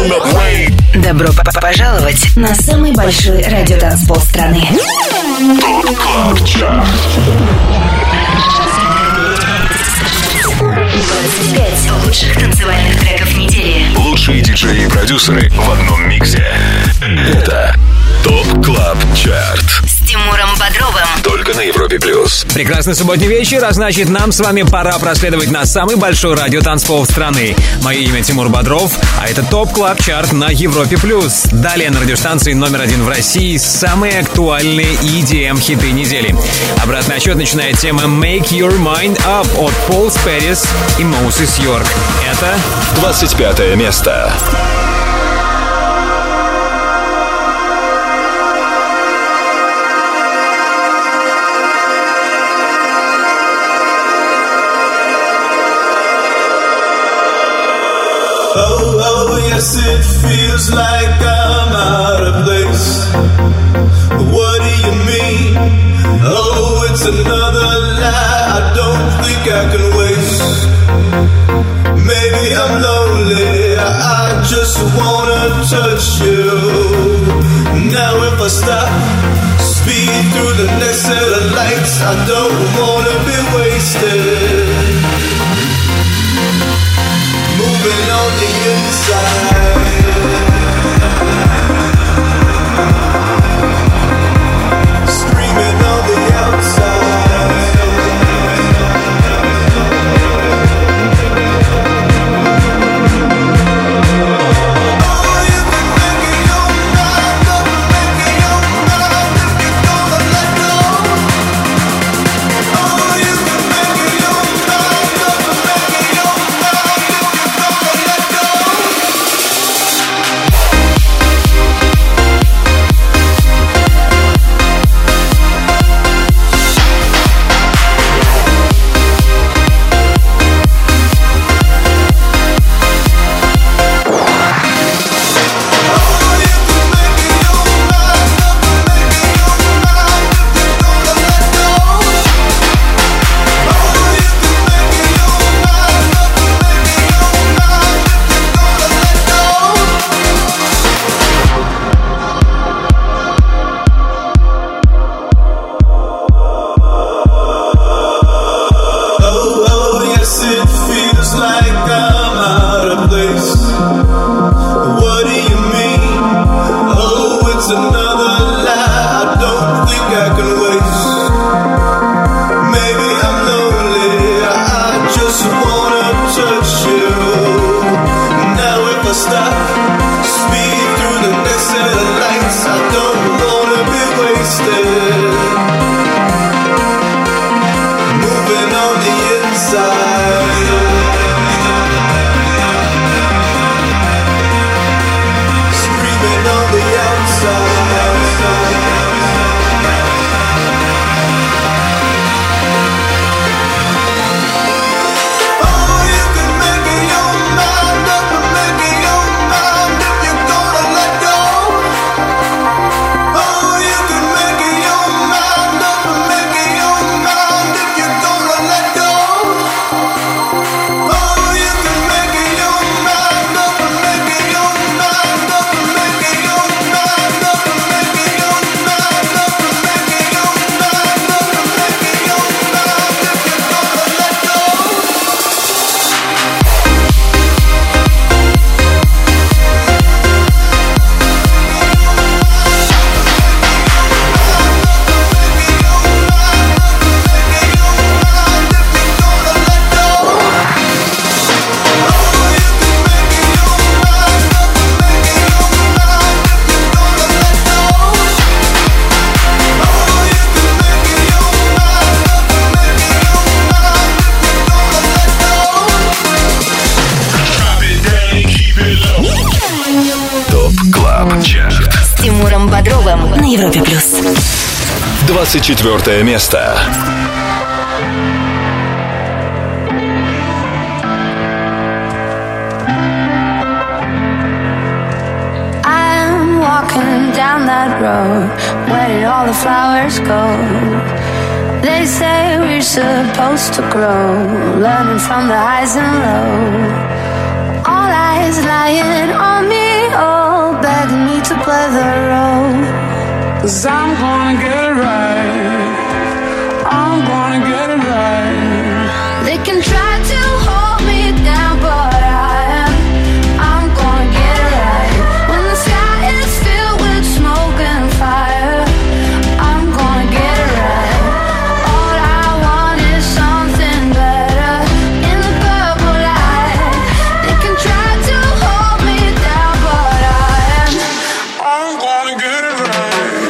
Добро пожаловать на самый большой радиотанцпол страны. ТОП КЛАБ ЧАРТ. 25 лучших танцевальных треков недели. Лучшие диджеи и продюсеры в одном миксе. Это ТОП КЛАБ ЧАРТ. С Тимуром Бодровым. Только на Европе Плюс. Прекрасный субботний вечер, а значит, нам с вами пора проследовать на самый большой радиотанцпол страны. Мое имя Тимур Бодров, а это ТОП КЛАБ ЧАРТ на Европе Плюс. Далее на радиостанции номер 1 в России самые актуальные EDM-хиты недели. Обратный отсчет начинает тема Make Your Mind Up от Пол Спэрис и Моусис Йорк. Это 25 место. Oh, yes, it feels like I'm out of place. What do you mean? Oh, it's another lie I don't think I can waste. Maybe I'm lonely, I just wanna touch you. Now if I stop, speed through the next set of lights, I don't wanna be wasted. Moving on the inside, screaming on the outside. Oh, you can make it your mind up, make it your mind if you're gonna let go. Oh, you can make it your mind up, make it your mind if you're gonna let go. С Тимуром Бодровым на Европе Плюс. 24 место. I'm walking down that road. Where did all the flowers go? They say we're supposed to grow, learning from the highs and lows. All eyes lying on me. of the road. 'Cause I'm gonna get it right. I'm gonna get it right. They can try to hold me down, but I'm gonna get it right. When the sky is filled with smoke and fire, I'm gonna get it right. All I want is something better in the purple light. They can try to hold me down, but I'm gonna get it right.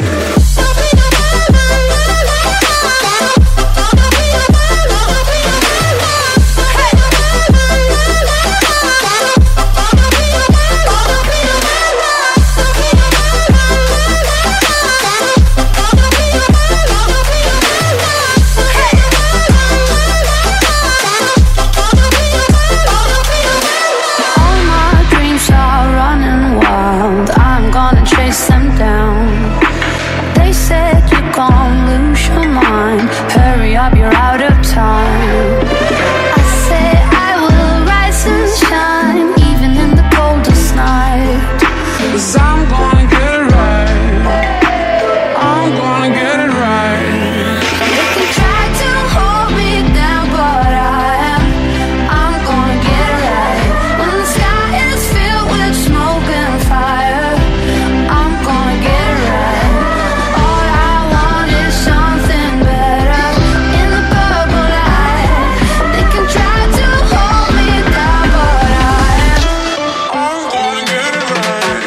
all my dreams are running wild. I'm gonna chase them down. They said you're gonna lose your mind. Hurry up, you're out of time. I say I will rise and shine, even in the coldest night. 'Cause I'm gonna get it right. I'm gonna get it right. They can try to hold me down, but I'm gonna get it right. When the sky is filled with smoke and fire, I'm gonna get it right. All I want is something better in the purple light. They can try to hold me down, but I'm gonna get it right.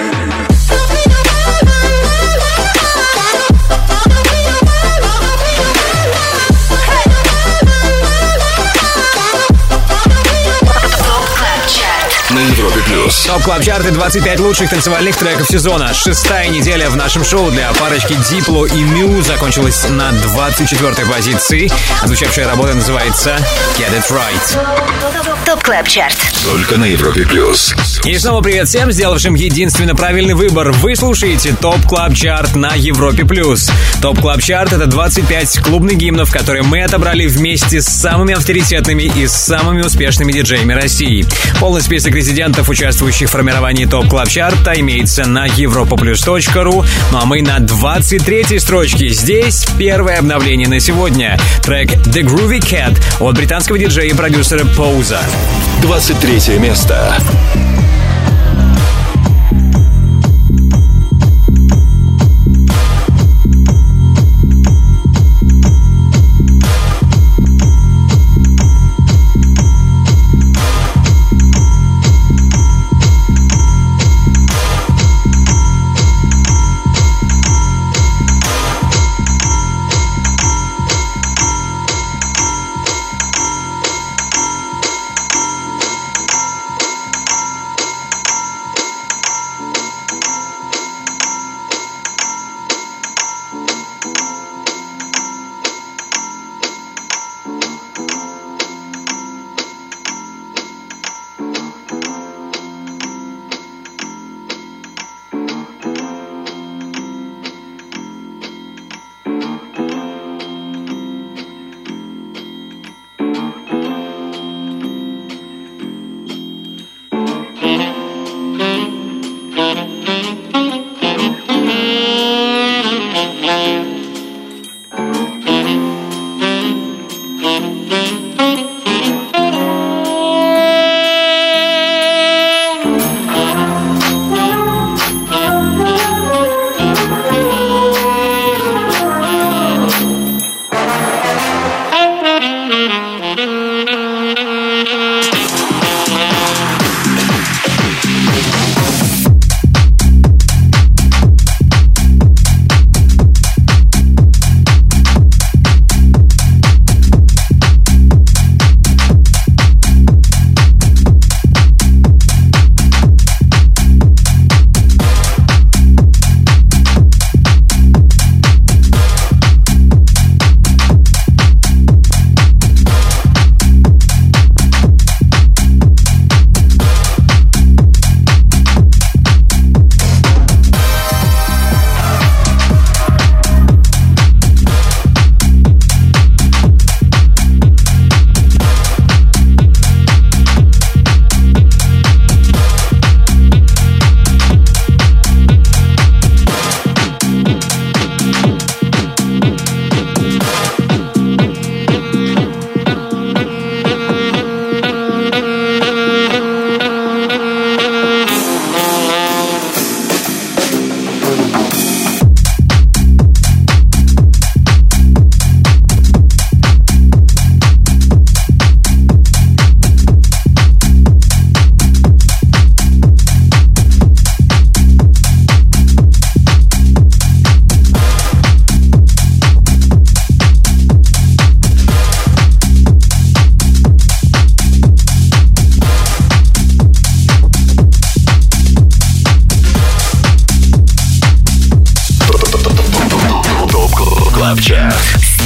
На Европе плюс. Топ Клаб Чарты, 25 лучших танцевальных треков сезона. 6-я неделя в нашем шоу для парочки Дипло и Мю закончилась на 24-й позиции. Звучавшая работа называется Get It Right. ТОП Клаб Чарт. Только на Европе плюс. И снова привет всем, сделавшим единственно правильный выбор. Вы слушаете ТОП Клаб Чарт на Европе плюс. ТОП Клаб Чарт — это 25 клубных гимнов, которые мы отобрали вместе с самыми авторитетными и самыми успешными диджеями России. Полный список резидентов, участвующих в формировании ТОП Клаб Чарта, имеется на europaplus.ru. Ну а мы на 23-й строчке. Здесь первое обновление на сегодня. Трек The Groovy Cat от британского диджея и продюсера Поуза. 23 место.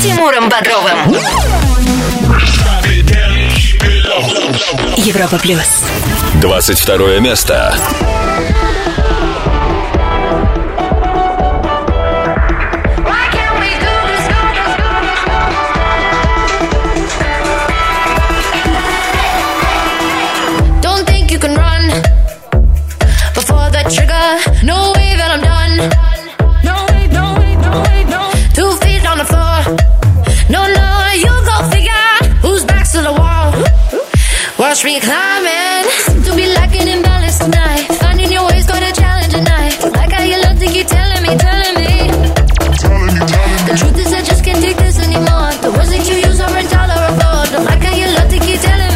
Тимуром Бодровым. Европа плюс. 22 место. No way that I'm done. No way, no way, no way, no. 2 feet on the floor. No, no, you go figure. Who's back to the wall? Watch me climbing. Don't be lacking in balance tonight. Finding your way's got a challenge tonight. Like how you love to keep telling me. The truth is I just can't take this anymore. The words that you use are intolerable. Don't like how you love to keep telling me.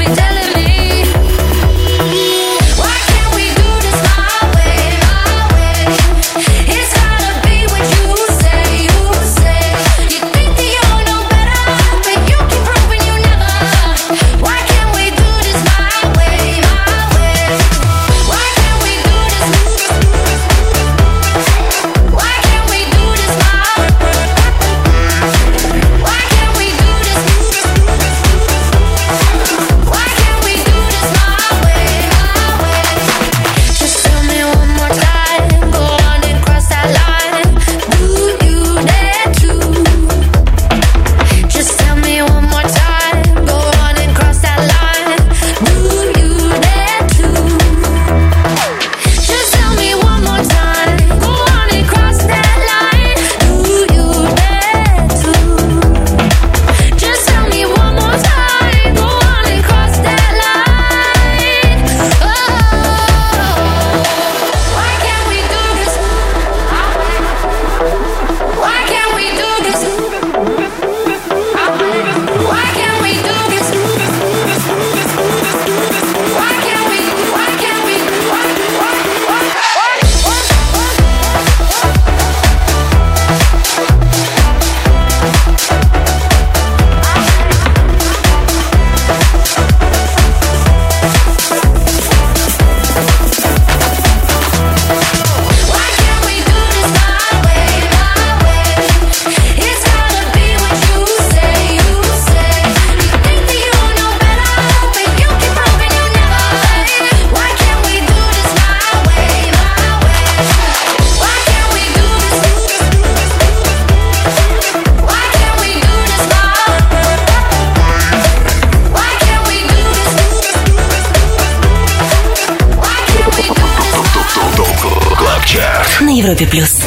На Европе плюс.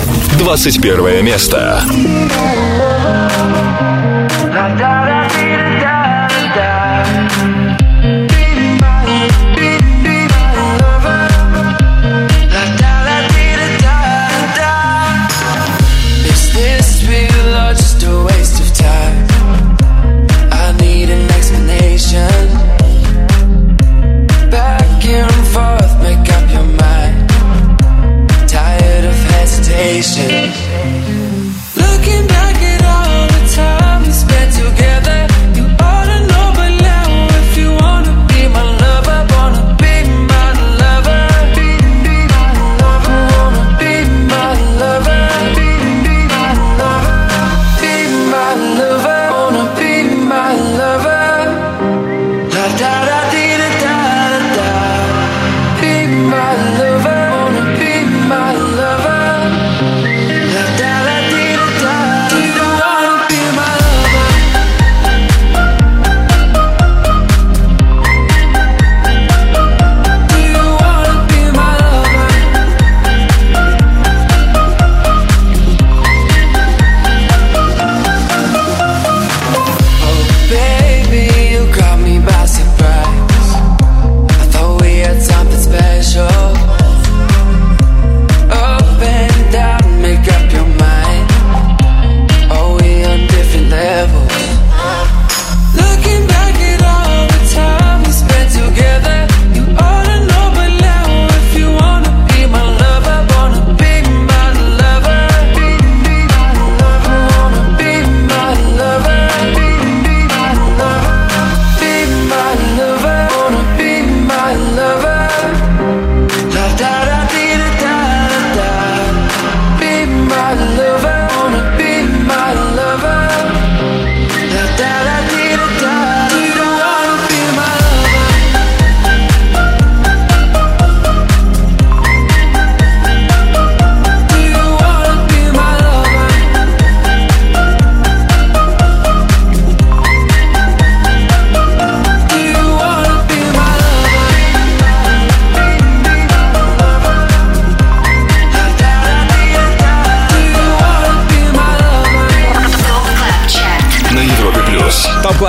21 место. Looking back at all the time we spent together.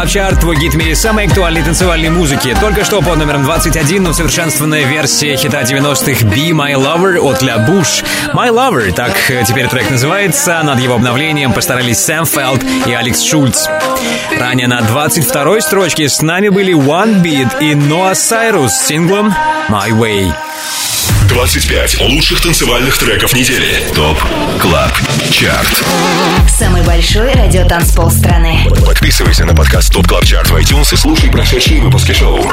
Клаб Чарт, твой гид в мире самой актуальной танцевальной музыки. Только что под номером 21 усовершенствованная версия хита 90-х Be My Lover от La Bouche. My Lover, так теперь трек называется. Над его обновлением постарались Сэм Фелд и Алекс Шульц. Ранее на 22-й строчке с нами были One Beat и Ноа Сайрус с синглом My Way. 25 лучших танцевальных треков недели. ТОП Клаб Чарт. Самый большой радиотанцпол страны. Подписывайся на подкаст ТОП Клаб Чарт в iTunes и слушай прошедшие выпуски шоу.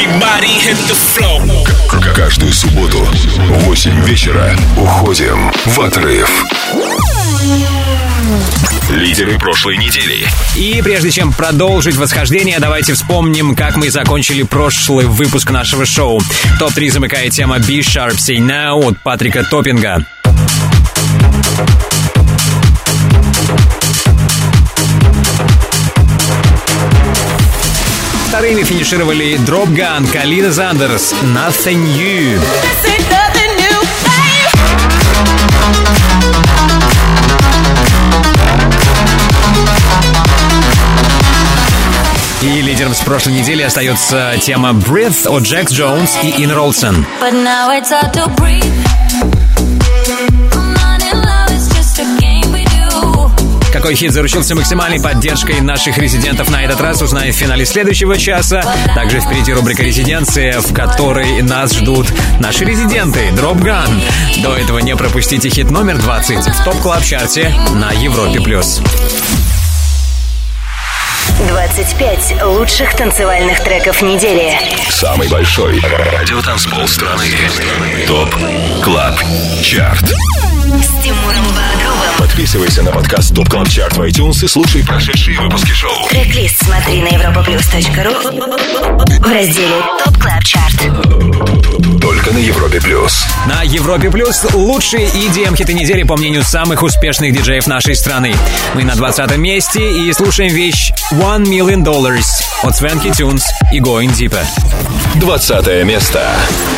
Каждую субботу в 8 вечера уходим в отрыв. Лидеры прошлой недели. И прежде чем продолжить восхождение, давайте вспомним, как мы закончили прошлый выпуск нашего шоу. Топ-3 замыкает тема Be Sharp Say Now от Патрика Топпинга. Вторыми финишировали Drop Gun, Калина Зандерс, Nothing New. И лидером с прошлой недели остается тема Breath от Джекс Джонс и Ин Ролсон. Какой хит заручился максимальной поддержкой наших резидентов на этот раз, узнаем в финале следующего часа. Также впереди рубрика «Резиденция», в которой нас ждут наши резиденты Drop Gun. До этого не пропустите хит номер 20 в ТОП Клаб Чарте на Европе+. 25 лучших танцевальных треков недели. Самый большой радиотанцпол страны. ТОП Клаб Чарт. С Тимуром Бодровым. Подписывайся на подкаст ТОП Клаб Чарт в iTunes и слушай прошедшие выпуски шоу. Трек-лист смотри на europaplus.ru в разделе ТОП Клаб Чарт. Только на Европе+. На Европе Плюс лучшие EDM-хиты недели по мнению самых успешных диджеев нашей страны. Мы на 20-м месте и слушаем вещь $1 Million от Swanky Tunes и Going Deeper. 20 место.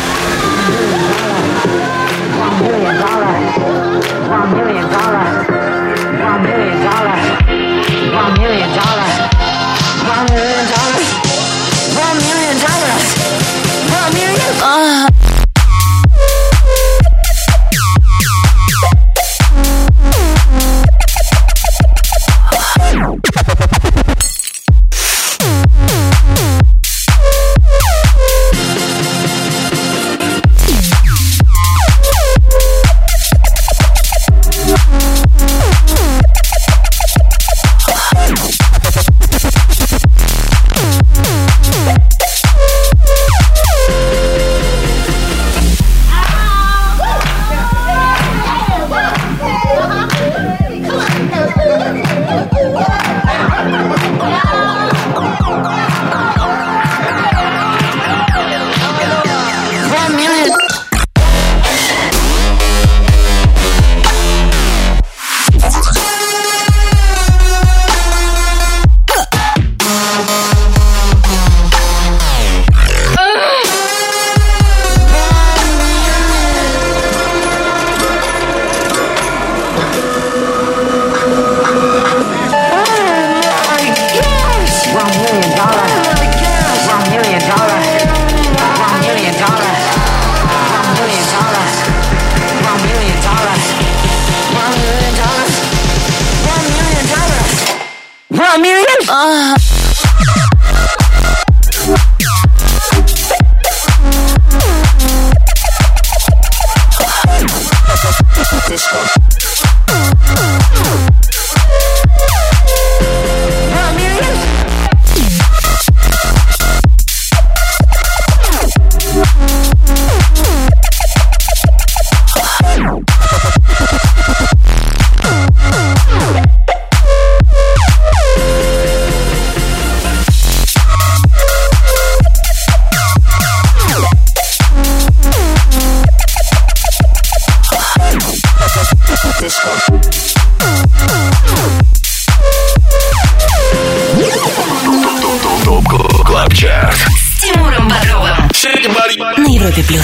На Европе Плюс.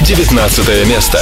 19 место.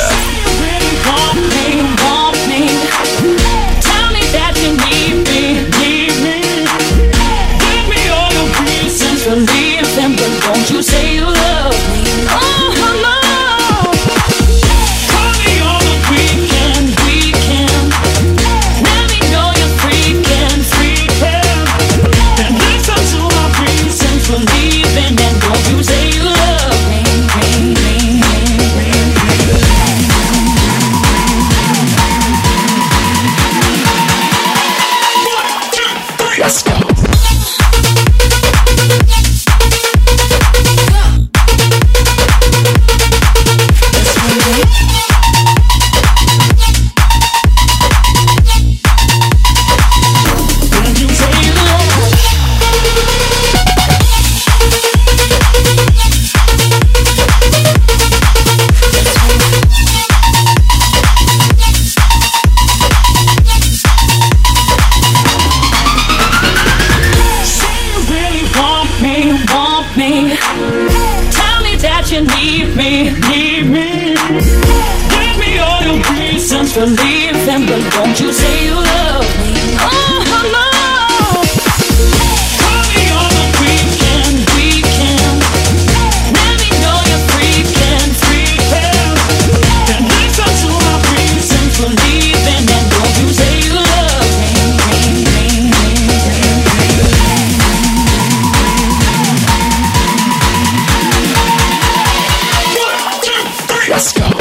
reasons for leaving, but don't you say you love me. Oh, no. Call me on the weekend. Let me know you're freaking. And listen to my reasons for leaving, and don't you say you love me. Let's go.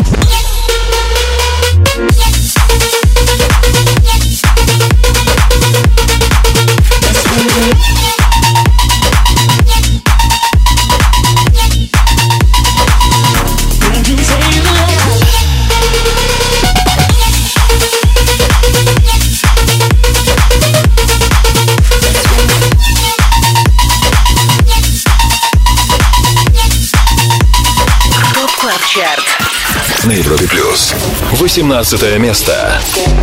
На Европе Плюс. 18 место.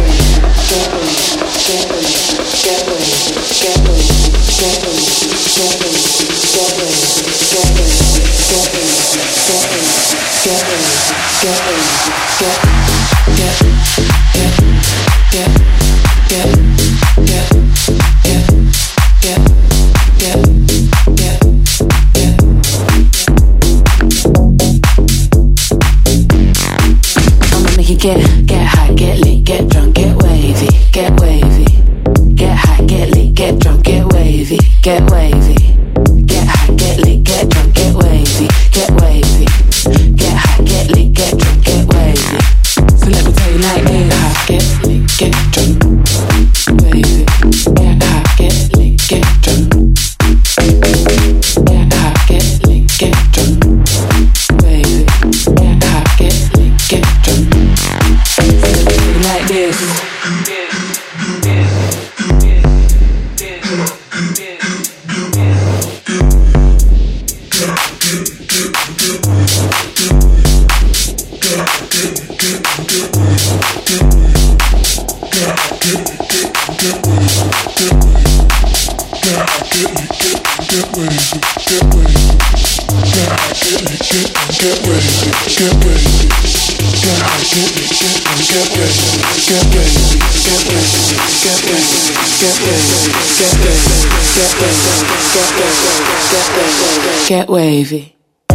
Get high, get lit, get drunk, get wavy, get wavy. Get high, get lit, get drunk, get wavy, get wavy. Get high, get lit, get drunk, get wavy, get wavy. Get high, get lit, get drunk, get wavy. So let me tell you like this: high, get lit, get drunk, wavy. Get high, get lit, get drunk. Get high, get lit, get drunk, wavy. Get high, get lit, get drunk. Like this. Get wavy.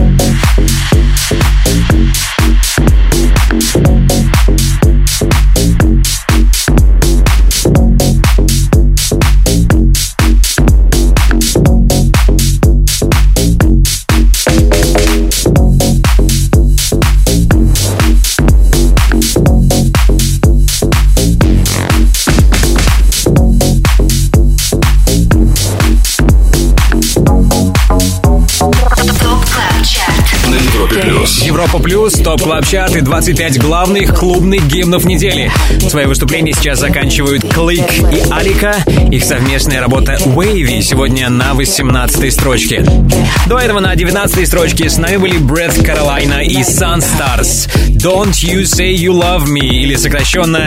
Европа Плюс, ТОП Клаб Чарт и 25 главных клубных гимнов недели. Свои выступления сейчас заканчивают Клик и Алика. Их совместная работа Wavy сегодня на 18-й строчке. До этого на 19-й строчке с нами были Брэд Каролайна и Sunstars. Don't You Say You Love Me, или сокращенно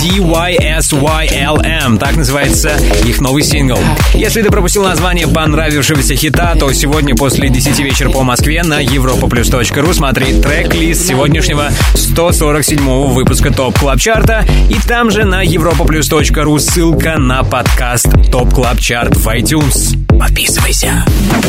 DYSYLM. Так называется их новый сингл. Если ты пропустил название понравившегося хита, то сегодня после 10 вечера по Москве на europaplus.ru смотри трек-лист сегодняшнего 147-го выпуска ТОП Клаб Чарта. И там же на europaplus.ru ссылка на подкаст ТОП Клаб Чарт в iTunes. Подписывайся.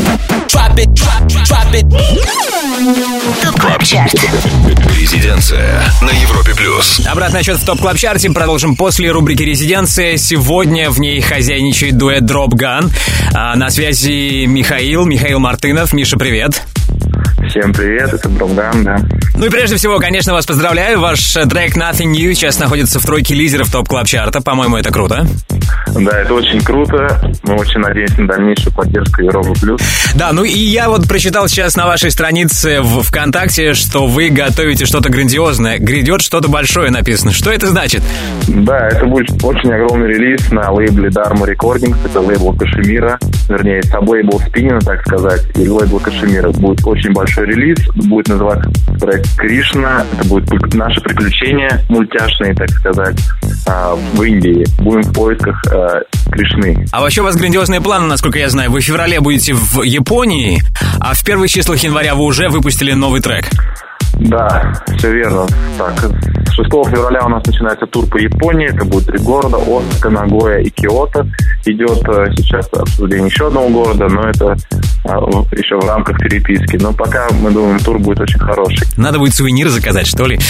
ТОП Клаб Чарт. Резиденция на Европе Плюс. Обратный отчет в ТОП Клаб Чарте продолжим после рубрики «Резиденция». Сегодня в ней хозяйничает дуэт Drop Gun. На связи Михаил Мартынов. Миша, привет. Всем привет, это Drop Gun, да. Ну и прежде всего, конечно, вас поздравляю. Ваш трек Nothing New сейчас находится в тройке лидеров ТОП Клаб Чарта. По-моему, это круто. Да, это очень круто. Мы очень надеемся на дальнейшую поддержку Европы Плюс. Да, ну и я вот прочитал сейчас на вашей странице в ВКонтакте, что вы готовите что-то грандиозное. Грядет что-то большое написано. Что это значит? Да, это будет очень огромный релиз на лейбле Dharma Recordings. Это лейбл Кашемира. Вернее, саб-лейбл Спинина, так сказать. И лейбл Кашемира. Будет очень большой релиз. Будет называться трек Кришна. Это будет наше приключение мультяшные, так сказать, в Индии. Будем в поисках Кришны. А вообще у вас грандиозные планы, насколько я знаю. Вы в феврале будете в Японии, а в первых числах января вы уже выпустили новый трек. Да, все верно. Так, 6 февраля у нас начинается тур по Японии. Это будет 3 города: Осака, Нагоя и Киото. Идет сейчас обсуждение еще одного города, но это еще в рамках переписки. Но пока, мы думаем, тур будет очень хороший. Надо будет сувениры заказать, что ли?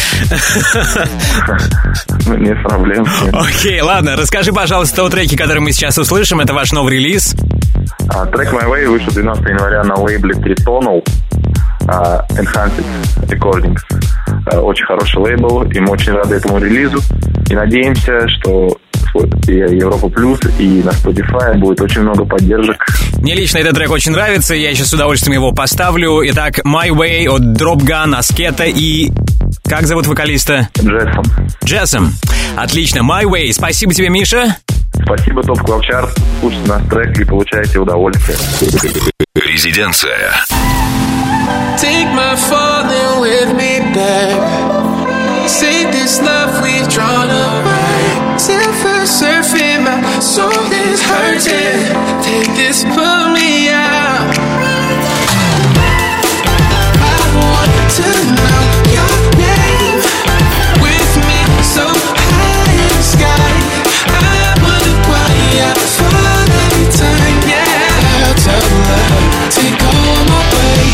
Не проблем. Окей, ладно. Расскажи, пожалуйста, о треке, который мы сейчас услышим. Это ваш новый релиз. Трек My Way вышел 12 января на лейбле Tritonal Enhanced Recordings. Очень хороший лейбл, и мы очень рады этому релизу. И надеемся, что и Европа Плюс, и на Spotify будет очень много поддержек. Мне лично этот трек очень нравится, я сейчас с удовольствием его поставлю. Итак, My Way от Drop Gun, Аскета и... Как зовут вокалиста? Джессом. Отлично, My Way. Спасибо тебе, Миша. Спасибо, Топ Клаб Чарт. Слушайте наш трек и получайте удовольствие. Резиденция. Take my falling with me back. Say this love we've drawn up right. Silver surfing, my soul is hurting. Take this, pull me out. I want to know your name. With me so high in the sky. I wonder why I fall every time. Yeah, I'll tell love, take all my way.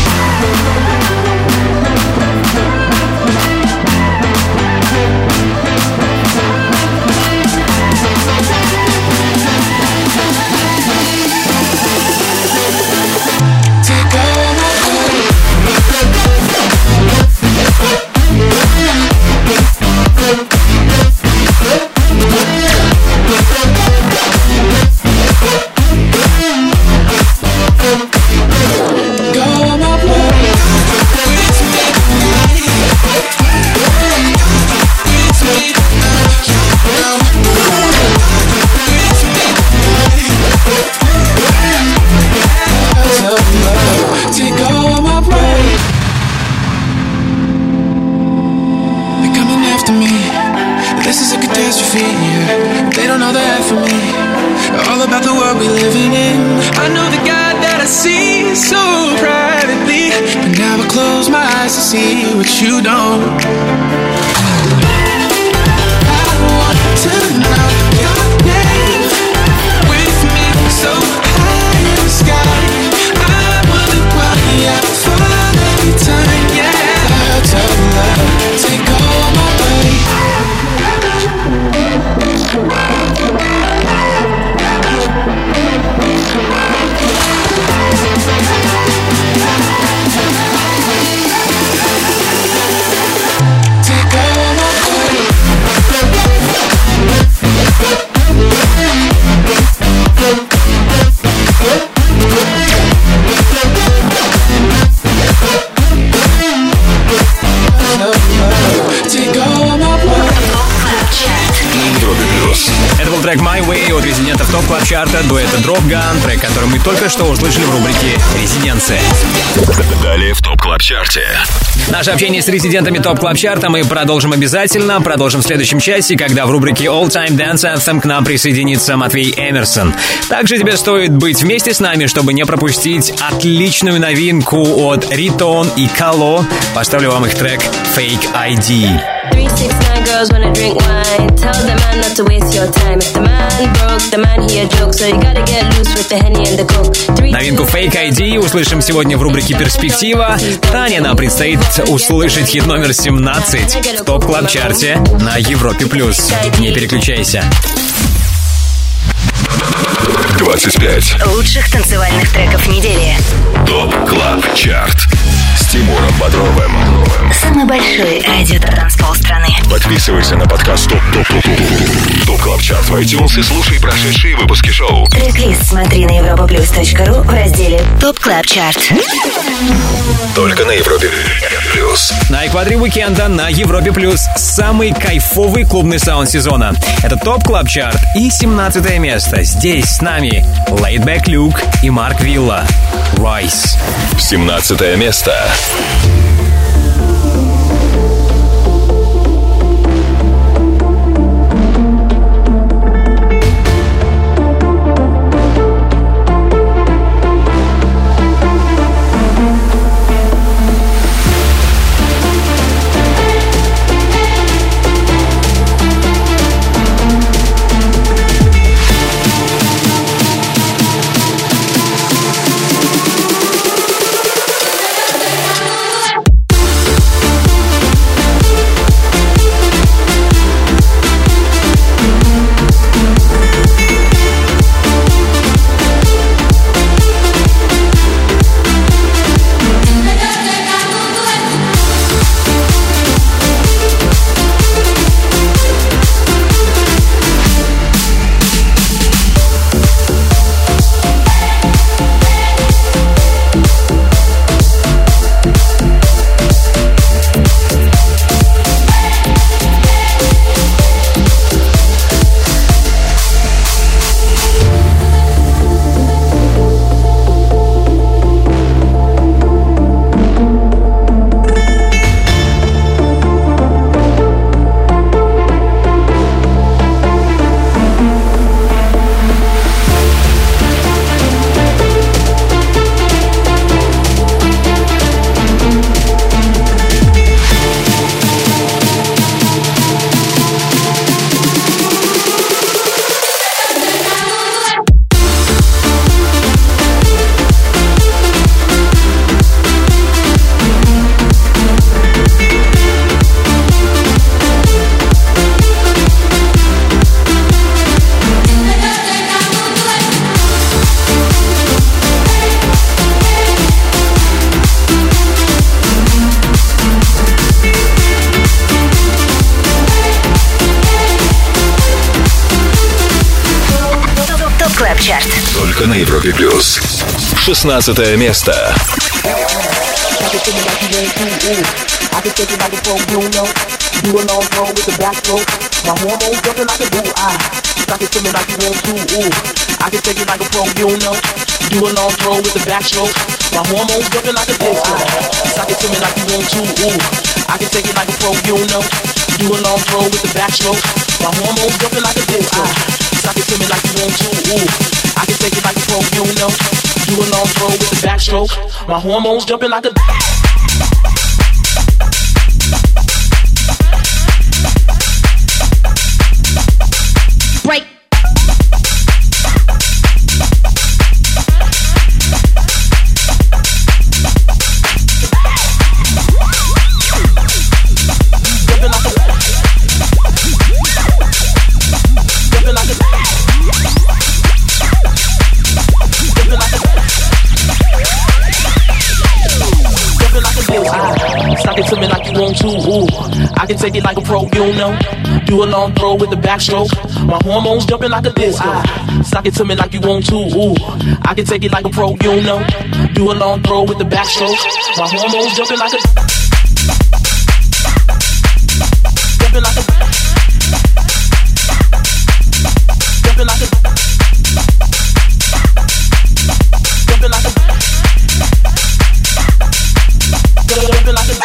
They don't know the half of me. All about the world we living in. I know the God that I see so privately, but now I close my eyes to see what you don't. I want to know your name. With me so high in the sky. I wonder why I fall every time. Yeah, I'll tell love, take all my way. Это был трек My Way от резидентов ТОП Клаб Чарта, дуэта Drop Gun, трек, который мы только что услышали в рубрике «Резиденция». Далее в ТОП Клаб Чарте. Наше общение с резидентами ТОП Клаб Чарта мы продолжим обязательно. Продолжим в следующем часе, когда в рубрике All Time Dance Anthem к нам присоединится Матвей Эмерсон. Также тебе стоит быть вместе с нами, чтобы не пропустить отличную новинку от Ритон и Кало. Поставлю вам их трек Fake ID. 369 girls wanna drink wine. Tell the man not to waste your time. If the man broke, the man he a joke. So you gotta get loose with the Henny and the Coke. Новинку Fake ID услышим сегодня в рубрике «Перспектива». Ранее нам предстоит услышать хит номер 17 в ТОП Клаб Чарте на Европе+. Не переключайся. 25 лучших танцевальных треков недели. ТОП Клаб Чарт с Тимуром Бодровым. Самый большой радиотанцпол страны. Подписывайся на подкаст ТОП Клаб Чарт в iTunes и слушай прошедшие выпуски шоу. Трек-лист смотри на europaplus.ru в разделе ТОП Клаб Чарт. Только на Европе Плюс. На экваторе уикенда на Европе Плюс самый кайфовый клубный саунд сезона. Это ТОП Клаб Чарт и 17 место. Здесь с нами Laidback Luke и Марк Вилла. Rise. 17 место. на Европе плюс. 16 место. I can take it like a pro, you know. Do a long throw with the backstroke. My hormones jumping like a bull. Suck it to me like you want to. Ooh. I can take it like a pro, you know. Do a long throw with the backstroke. My hormones jumping like a disco. Suck it to me like you want to. Ooh. I can take it like a pro, you know. Do a long throw with the backstroke. My hormones jumping like a disco. Suck it to me like you want to. Ooh. I can take it like a pro, you know. Do a long throw with the backstroke. My hormones jumping like a break. Suck it to me like you want to, ooh. I can take it like a pro, you know. Do a long throw with the backstroke. My hormones jumping like a disco. Suck it to me like you want to, ooh. I can take it like a pro, you know. Do a long throw with the backstroke. My hormones jumping like a jumping like a jumping like a jumping like a jumping like a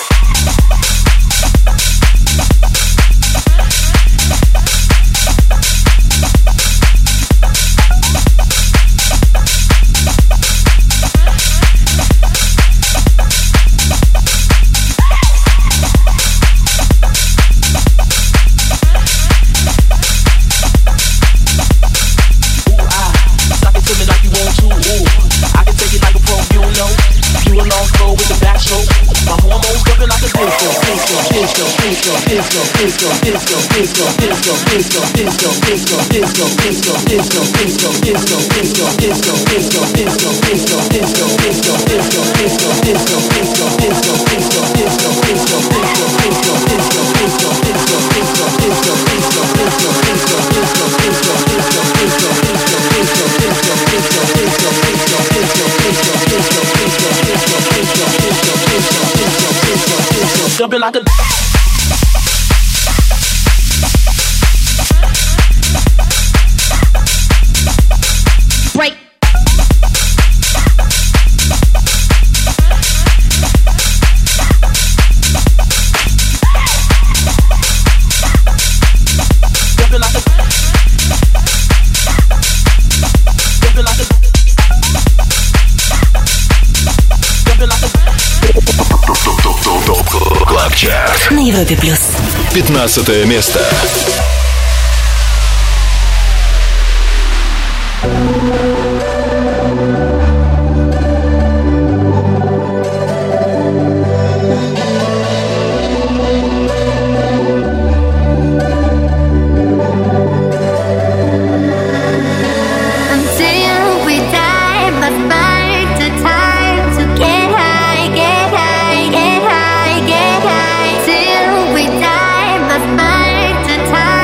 jumping like a break. jumping like a jumping like a jumping like a ТОП Клаб Чарт на Европе плюс. 15 место. Till we die, must find the time.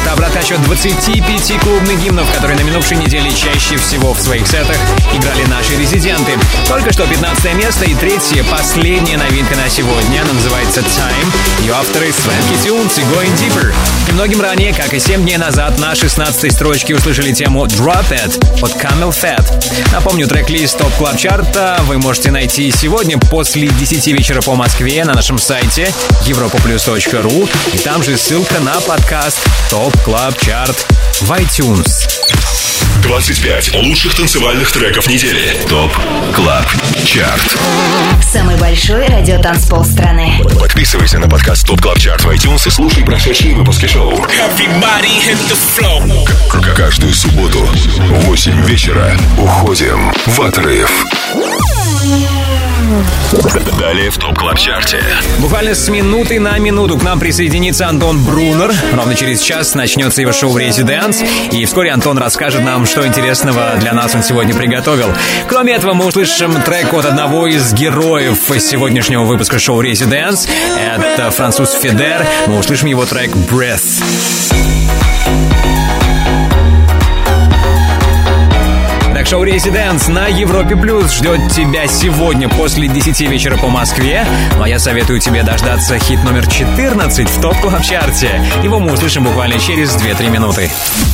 Это обратный отсчет 25 клубных гимнов, которые на минувшей неделе чаще всего в своих сетах играли наши резиденты. Только что 15 место и третье, последняя новинка на сегодня. Она называется Time. Ее авторы Swanky Tunes и Going Deeper. Немногим ранее, как и 7 дней назад, на 16-й строчке услышали тему Drop It от Camel Fat. Напомню, трек-лист ТОП Клаб Чарта вы можете найти сегодня после 10 вечера по Москве на нашем сайте europaplus.ru. И там же ссылка на подкаст ТОП Клаб Чарт в iTunes. 25 лучших танцевальных треков недели. ТОП Клаб Чарт. Самый большой радиотанцпол страны. Подписывайся на подкаст ТОП Клаб Чарт в iTunes и слушай прошедшие выпуски шоу. Каждую субботу в 8 вечера уходим в отрыв. Далее в ТОП Клаб Чарте. Буквально с минуты на минуту к нам присоединится Антон Брунер. Ровно через час начнется его шоу «Резиденс». И вскоре Антон расскажет нам, что интересного для нас он сегодня приготовил. Кроме этого, мы услышим трек от одного из героев сегодняшнего выпуска шоу «Резиденс». Это француз Федер. Мы услышим его трек «Breath». Шоу «Резиденс» на Европе Плюс ждет тебя сегодня после 10 вечера по Москве. Ну а я советую тебе дождаться хит номер 14 в ТОП Клаб Чарте. Его мы услышим буквально через 2-3 минуты.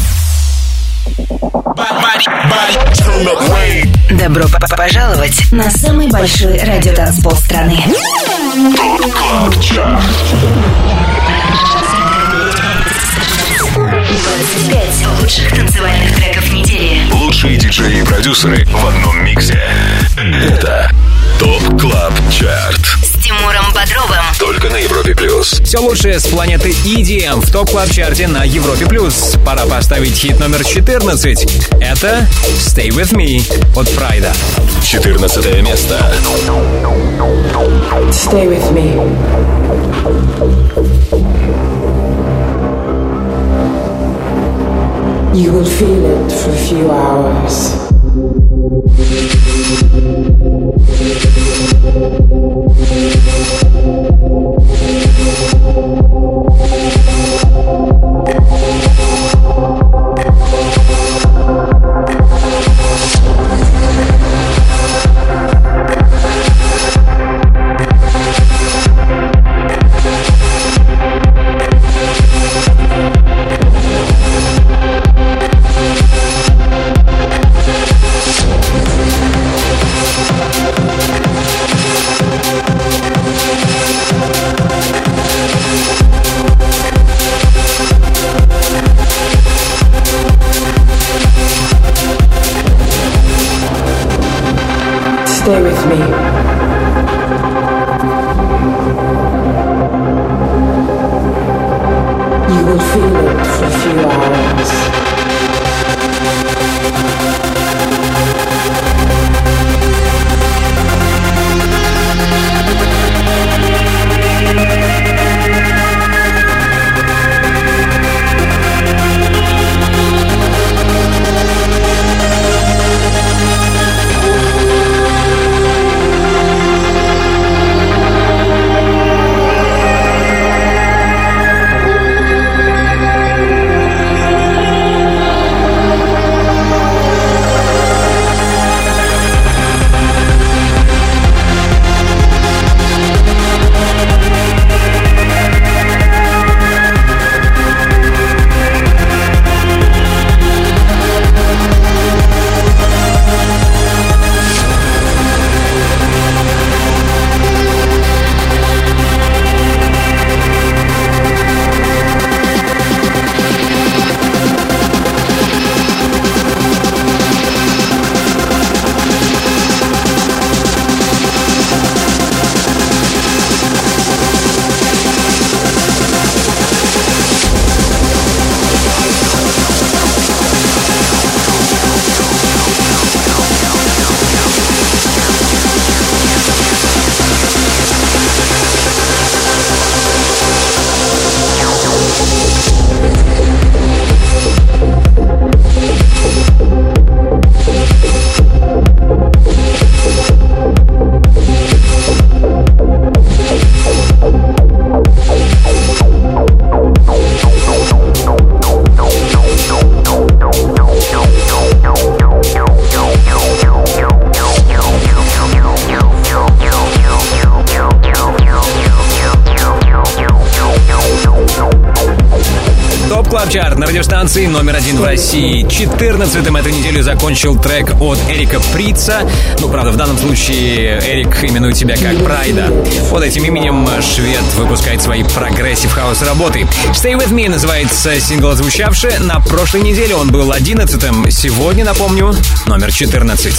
Добро пожаловать на самый большой радиотанцпол страны. ТОП Клаб Чарт. 25 лучших танцевальных треков недели. Лучшие диджеи и продюсеры в одном миксе. Это ТОП Клаб Чарт. С Тимуром Бодровым. Только на Европе Плюс. Все лучшее с планеты EDM в ТОП Клаб Чарте на Европе Плюс. Пора поставить хит номер 14. Это Stay With Me от Прайда. 14 место. Stay with me. You will feel it for a few hours. Stay with me. You will feel it for a few hours. радиостанции номер 1 в России. 14-м эту неделю закончил трек от Эрика Прица. Ну, правда, в данном случае Эрик именует себя как Прайда. Под этим именем швед выпускает свои прогрессив-хаус работы. Stay With Me называется сингл, звучавший. На прошлой неделе он был 11-м. Сегодня, напомню, номер 14.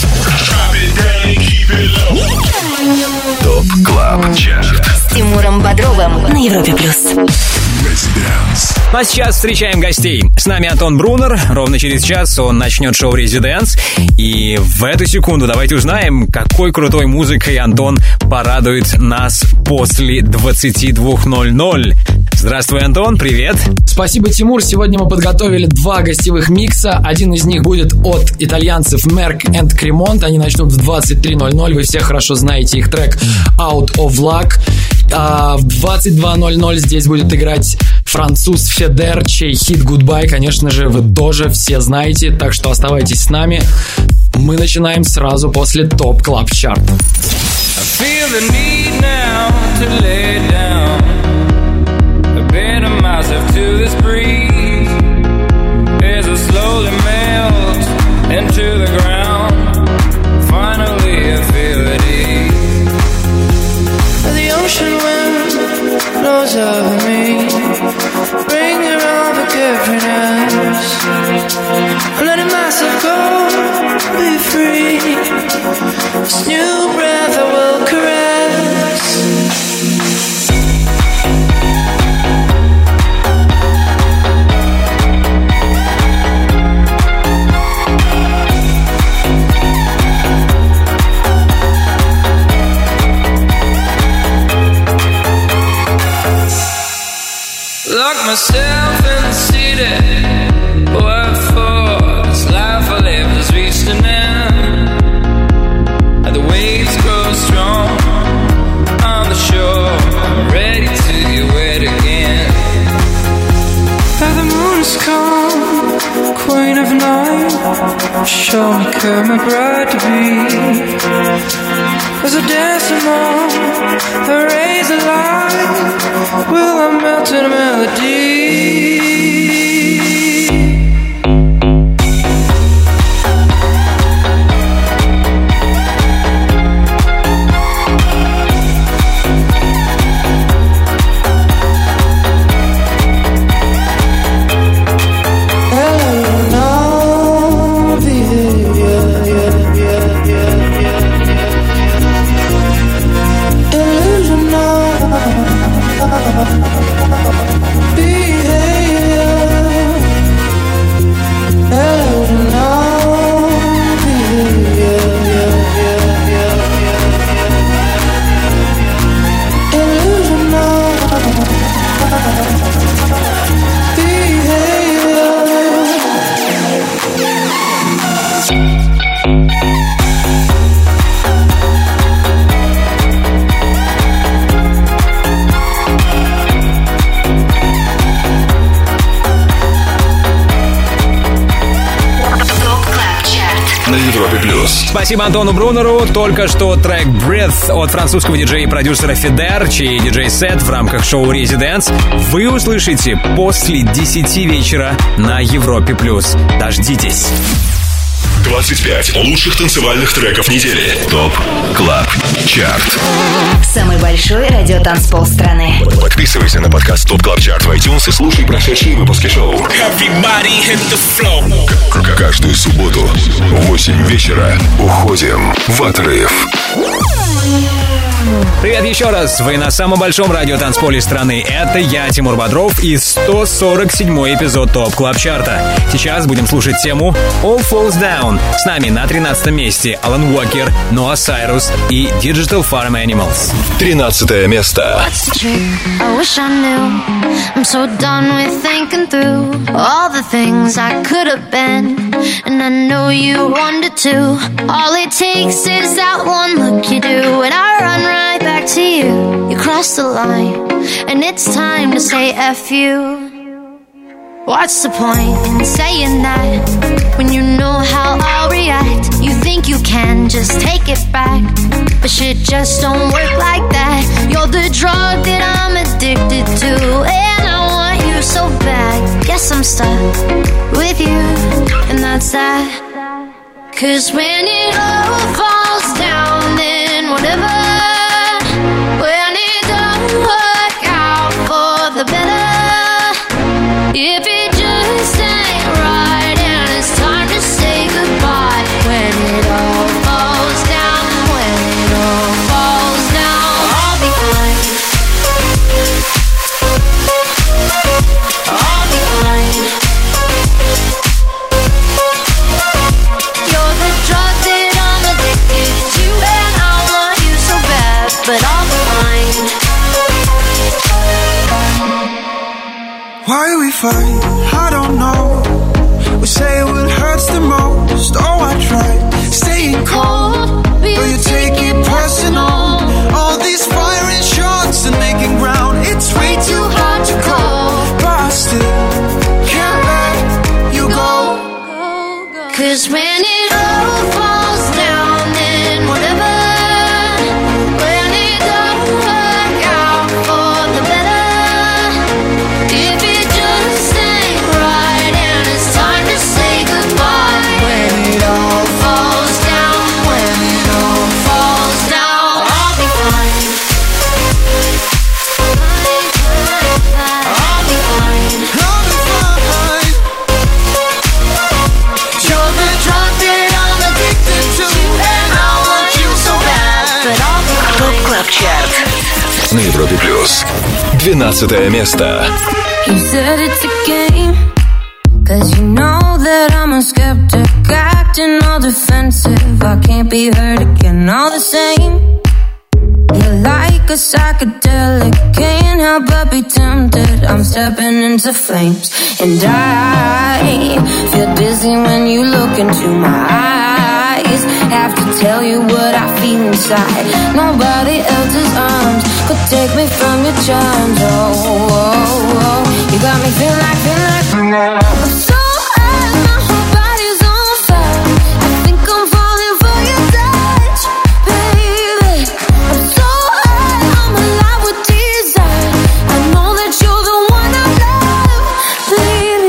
ТОП КЛАБ ЧАРТ С Тимуром Бодровым на Европе+. Ну а сейчас встречаем гостей. С нами Антон Брунер. Ровно через час он начнет шоу «Резиденс». И в эту секунду давайте узнаем, какой крутой музыкой Антон порадует нас после 22:00. Здравствуй, Антон, привет. Спасибо, Тимур. Сегодня мы подготовили 2 гостевых микса. Один из них будет от итальянцев Merck and Cremont. Они начнут в 23:00. Вы все хорошо знаете их трек Out of Luck. А в 22:00 здесь будет играть француз Федер, чей хит Goodbye, конечно же, вы тоже все знаете. Так что оставайтесь с нами. Мы начинаем сразу после ТОП КЛАБ ЧАРТ. Myself to this breeze as I slowly melt into the ground. Finally I feel at ease. The ocean wind blows over me, bringing all forgiveness. I'm letting myself go, be free. This new breath I will caress. Lock myself in the city. What for? This life I live has reached an end. And the waves grow strong on the shore. I'm ready to get wet again. And the moon is calm, queen of night. Show me come my bride to be. As I dance along the rays of light, will I melt in a melody? Спасибо Антону Брунеру. Только что трек Breath от французского диджея и продюсера Федер, чей диджей-сет в рамках шоу «Резиденс» вы услышите после 10 вечера на Европе+. Дождитесь. 25 лучших танцевальных треков недели. ТОП КЛАБ ЧАРТ. Самый большой радиотанцпол страны. Подписывайся на подкаст ТОП КЛАБ ЧАРТ в iTunes и слушай прошедшие выпуски шоу. Каждую субботу в 8 вечера уходим в отрыв. Привет еще раз. Вы на самом большом радиотанцполе страны. Это я, Тимур Бодров, и 147-й эпизод ТОП КЛАБ ЧАРТа. Сейчас будем слушать тему All Falls Down. С нами на 13 месте Алан Уокер, Ноа Сайрус и Digital Farm Animals. 13 место. I wish I knew. I'm so done with thinking through all the things I could have been, and I know you wanted to. All it takes is that one look you do, and I run right back to you. You cross the line, and it's time to say F you. What's the point in saying that when you know how I'll react? You think you can just take it back, but shit just don't work like that. You're the drug that I'm addicted to, and I want you so bad. Guess I'm stuck with you, and that's that. 'Cause when it all falls down, then whatever. When it don't work out for the better, if it just ain't right and it's time to say goodbye. When it all falls down, when it all falls down, I'll be fine. I'll be fine. You're the drug that I'm addicted to, and I want you so bad, but I'll be fine. Why we fight? I don't know. We say what hurts the most. Oh, I tried staying cold, but you take it personal. All these firing shots and making ground, it's way too hard to call. But I still can't let you go. 'Cause when it all falls down, then whatever. When it don't work out for the better, if it just ain't right and it's time to say goodbye. When it all falls down, when it all falls down, I'll be fine. I'll be fine. I'll be fine. You're the drug that I'm addicted to, and I want you so bad, but I'll be ТОП fine. КЛАБ ЧАРТ На Европе плюс 12 место. You said it's a game, 'cause you know that I'm a skeptic, acting all defensive. I can't be hurt again, all the same. You're like a psychedelic, can't help but be tempted. I'm stepping into flames, and I feel dizzy when you look into my eyes. Have to tell you what I feel inside. Nobody else's arms could take me from your charms. Oh, oh, oh. You got me feeling like I'm so high, my whole body's on fire. I think I'm falling for your touch, baby. I'm so high, I'm alive with desire. I know that you're the one I love, baby.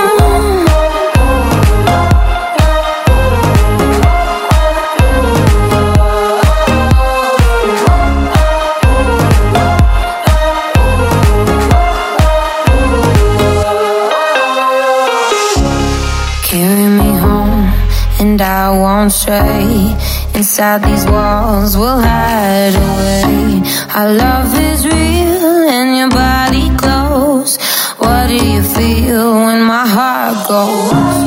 Carry me home, and I won't stray. Inside these walls, we'll hide away. Our love is real, and your body close. What do you feel when my heart goes?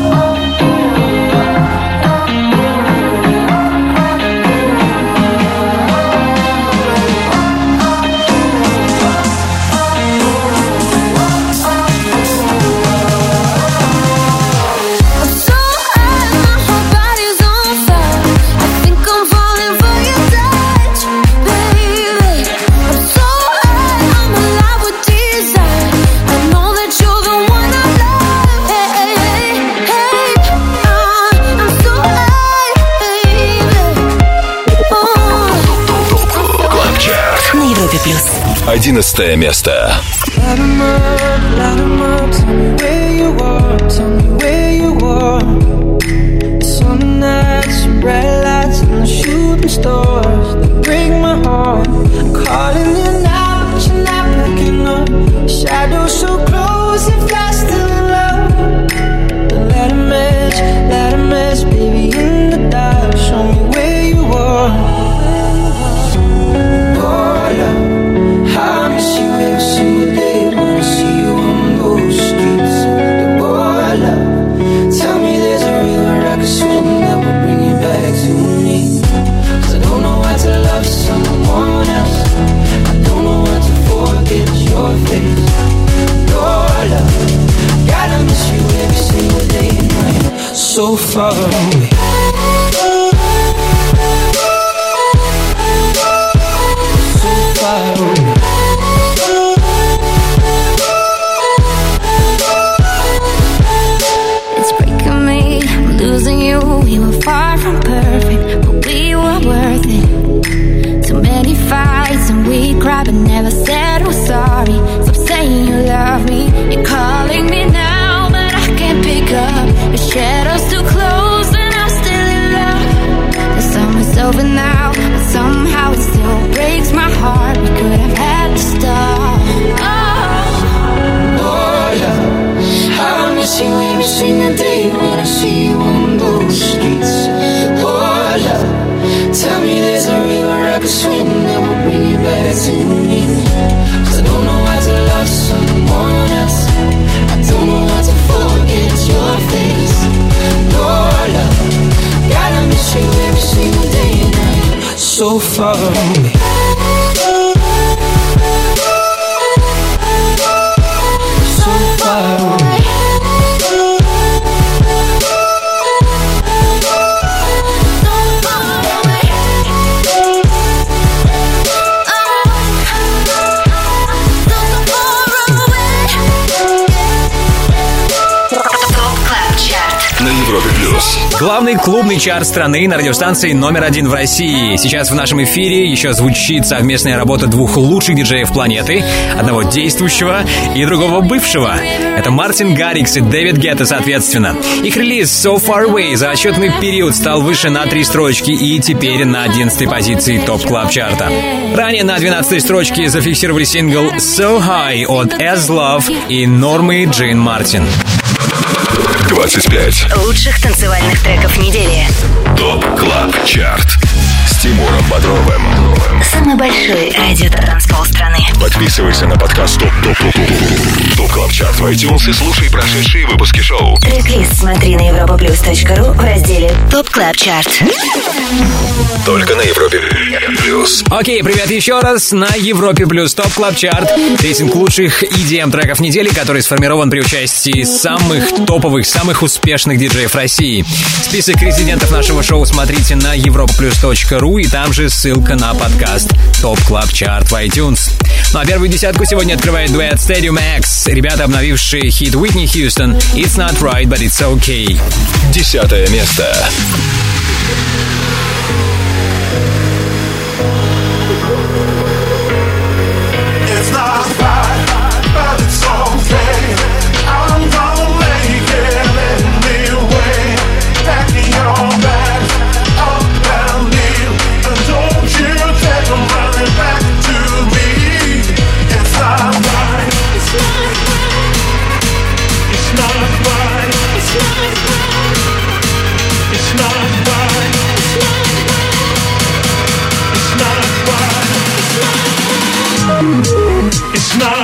на Европе плюс. 11 место. Light 'em up, tell me where you are, tell me where you are. Summer nights, some bright lights, and the shooting stars that break my heart. I'm calling you now, but you're not picking up. Shadows so close, if I still in love. But let 'em match, baby, in the dark. Show me where you are. Oh, love, I miss you every single day. Wanna see you on those streets. Oh, love, tell me there's a river I can swim that will bring you back to me. 'Cause I don't know how to love someone else. I don't know how to forget your face. Oh, love, gotta miss you every single day and night. So far away. So far away. It's breaking me, I'm losing you. We were far from perfect, but we were worth it. Too many fights and we cried but never said we're sorry. Stop saying you love me, you call it when I see you on those streets. Oh, love, tell me there's a river I could swim that will bring you back to me. 'Cause I don't know how to love someone else. I don't know how to forget your face. Oh, love, gotta miss you every single day and night. So far away. So far away. На Европе Плюс. Главный клубный чарт страны на радиостанции номер 1 в России. Сейчас в нашем эфире еще звучит совместная работа двух лучших диджеев планеты. Одного действующего и другого бывшего. Это Мартин Гаррикс и Дэвид Гетта, соответственно. Их релиз So Far Away за отчетный период стал выше на 3 строчки и теперь на 11-й позиции топ-клаб-чарта. Ранее на 12-й строчке зафиксировали сингл So High от As Love и Нормы Джейн Мартин. 25 лучших танцевальных треков недели. ТОП Клаб Чарт с Тимуром Бодровым. Самый большой радиотанцпол страны. Подписывайся на подкаст ТОП Клаб Чарт в iTunes и слушай прошедшие выпуски шоу. Трек-лист смотри на europaplus.ru в разделе ТОП Клаб Чарт. Только на Европе Плюс. Окей, привет еще раз на Европе Плюс ТОП Клаб Чарт. Рейтинг лучших EDM треков недели, который сформирован при участии самых топовых, самых успешных диджеев России. Список резидентов нашего шоу смотрите на europaplus.ru, и там же ссылка на подкаст ТОП Клаб Чарт в iTunes. Ну а первую десятку сегодня открывает дуэт Stadium X. Ребята, обновившие хит Уитни Хьюстон «It's not right, but it's okay». 10-е место. It's not right, but it's okay. I'm gonna make it anyway. Packing your bags up and leave, and don't you take them running back to me. It's not right. It's not right. It's not right. It's not right. It's not right. It's not right. It's not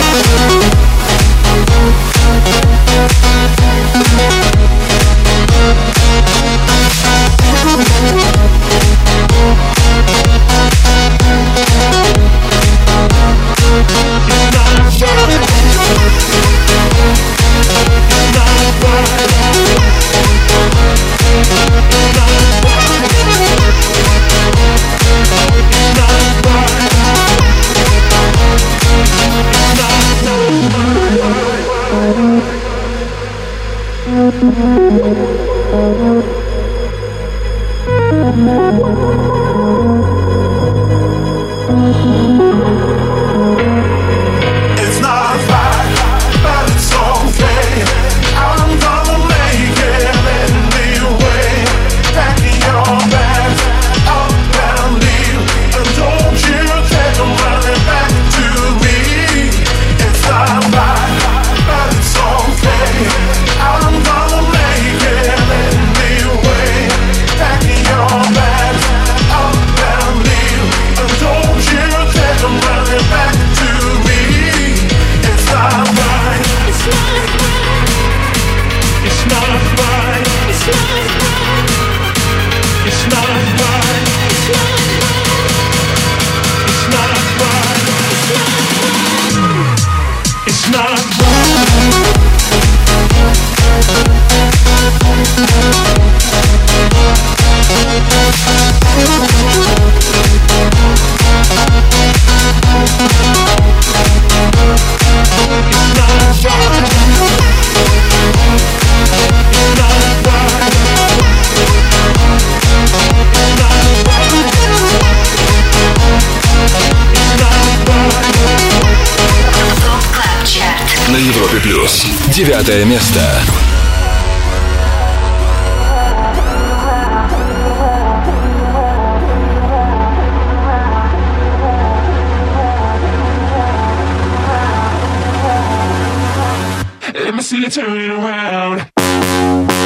It's not right, but it's okay. I'm gonna make it anyway. Packing your bags up and leave, and don't you take them running back to me. It's not right, but it's okay. I'm gonna make it anyway. Packing your bags up and leave, and don't you take them running back to me. It's not right. It's not right. It's not right. It's not right. It's not right. It's not right. It's not На Европе Плюс. 9-е место. Let me see you turning around.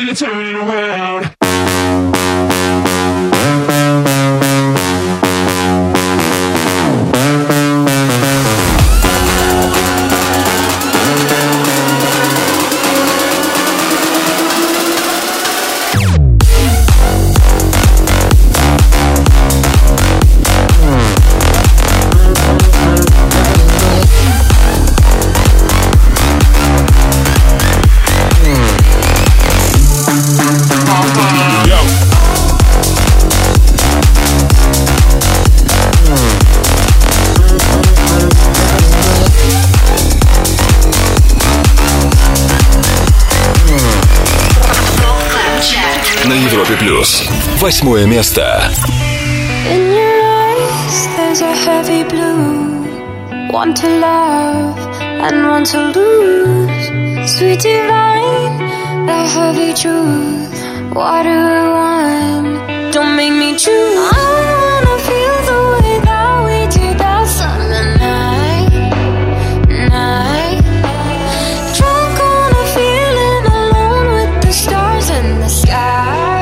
feel it turning around. На Европе плюс. 8 место. In your eyes, there's a heavy blue. One to love and one to lose. Sweet divine, the heavy truth. What do I want? Don't make me choose. I wanna feel the way that we did that summer night. Drunk on a feeling, alone with the stars in the sky.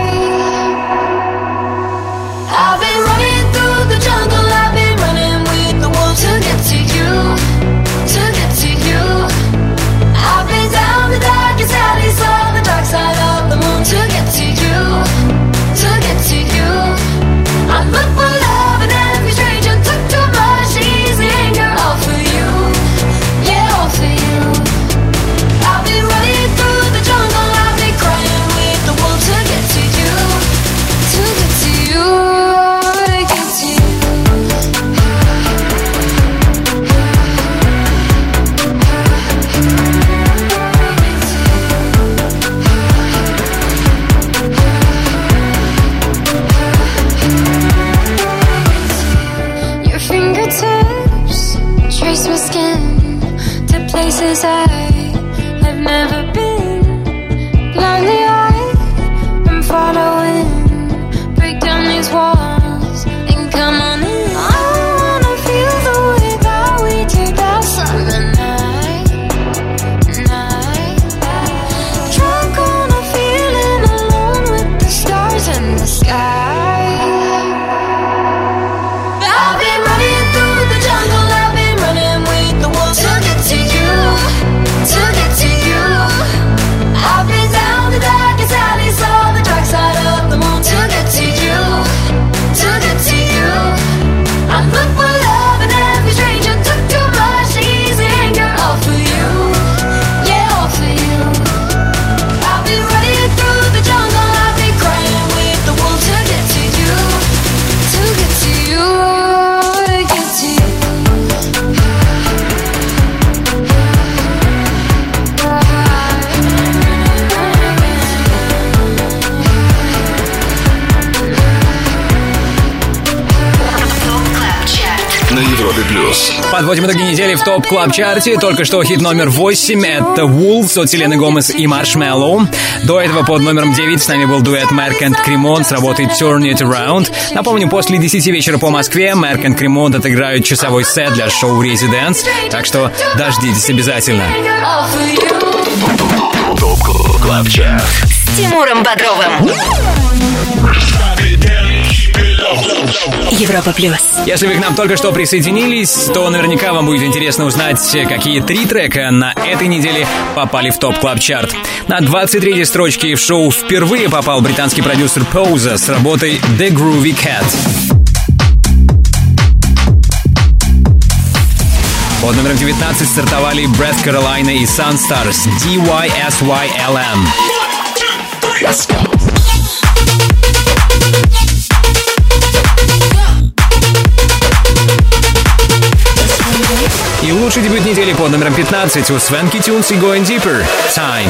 I've been running through the jungle, I've been running with the wolves to get to you, to get to you. I've been down the darkest alleys on the dark side of the moon to get to you, to get to you. I look for love in every stranger, took too much easy anger, all for you, yeah, all for you. I've been running through the jungle, I've been crying with the wolves to get to you, to get to you. Your fingertips trace my skin to places I've never been. Blindly I'm following. Break down these walls and come on in. I wanna feel the way that we did that summer night. Drunk on a feeling, alone with the stars in the sky. I've been running through the jungle, I've been running with the wolves to get to you, to get to you. I've been down the darkest alleys on the dark side of the moon to get to you, to get to you. I look for love in every stranger, took too much easy anger, all for you, yeah, all for you. I've been running through the jungle, I've been crying with the wolves to get to you, to get to you, to get to you. На Европе плюс. Подводим итоги недели в ТОП Клаб Чарте. Только что хит номер 8 — это Wolves от Селены Гомес и Маршмеллоу. До этого под номером 9 с нами был дуэт Merk and Cremont с работой Turn It Around. Напомню, после 10 вечера по Москве Merk and Cremont отыграют часовой сет для шоу Residence, так что дождитесь обязательно. ТОП Клаб Чарт С Тимуром Бодровым. Европа плюс. Если вы к нам только что присоединились, то наверняка вам будет интересно узнать, какие 3 трека на этой неделе попали в ТОП Клаб Чарт. На 23-й строчке в шоу впервые попал британский продюсер Pose с работой The Groovy Cat. Под номером 19 стартовали Brett Carolina и Sunstars DYSYLM. Let's go. И лучший дебют недели под номером 15 у Swanky Tunes и Going Deeper. Time.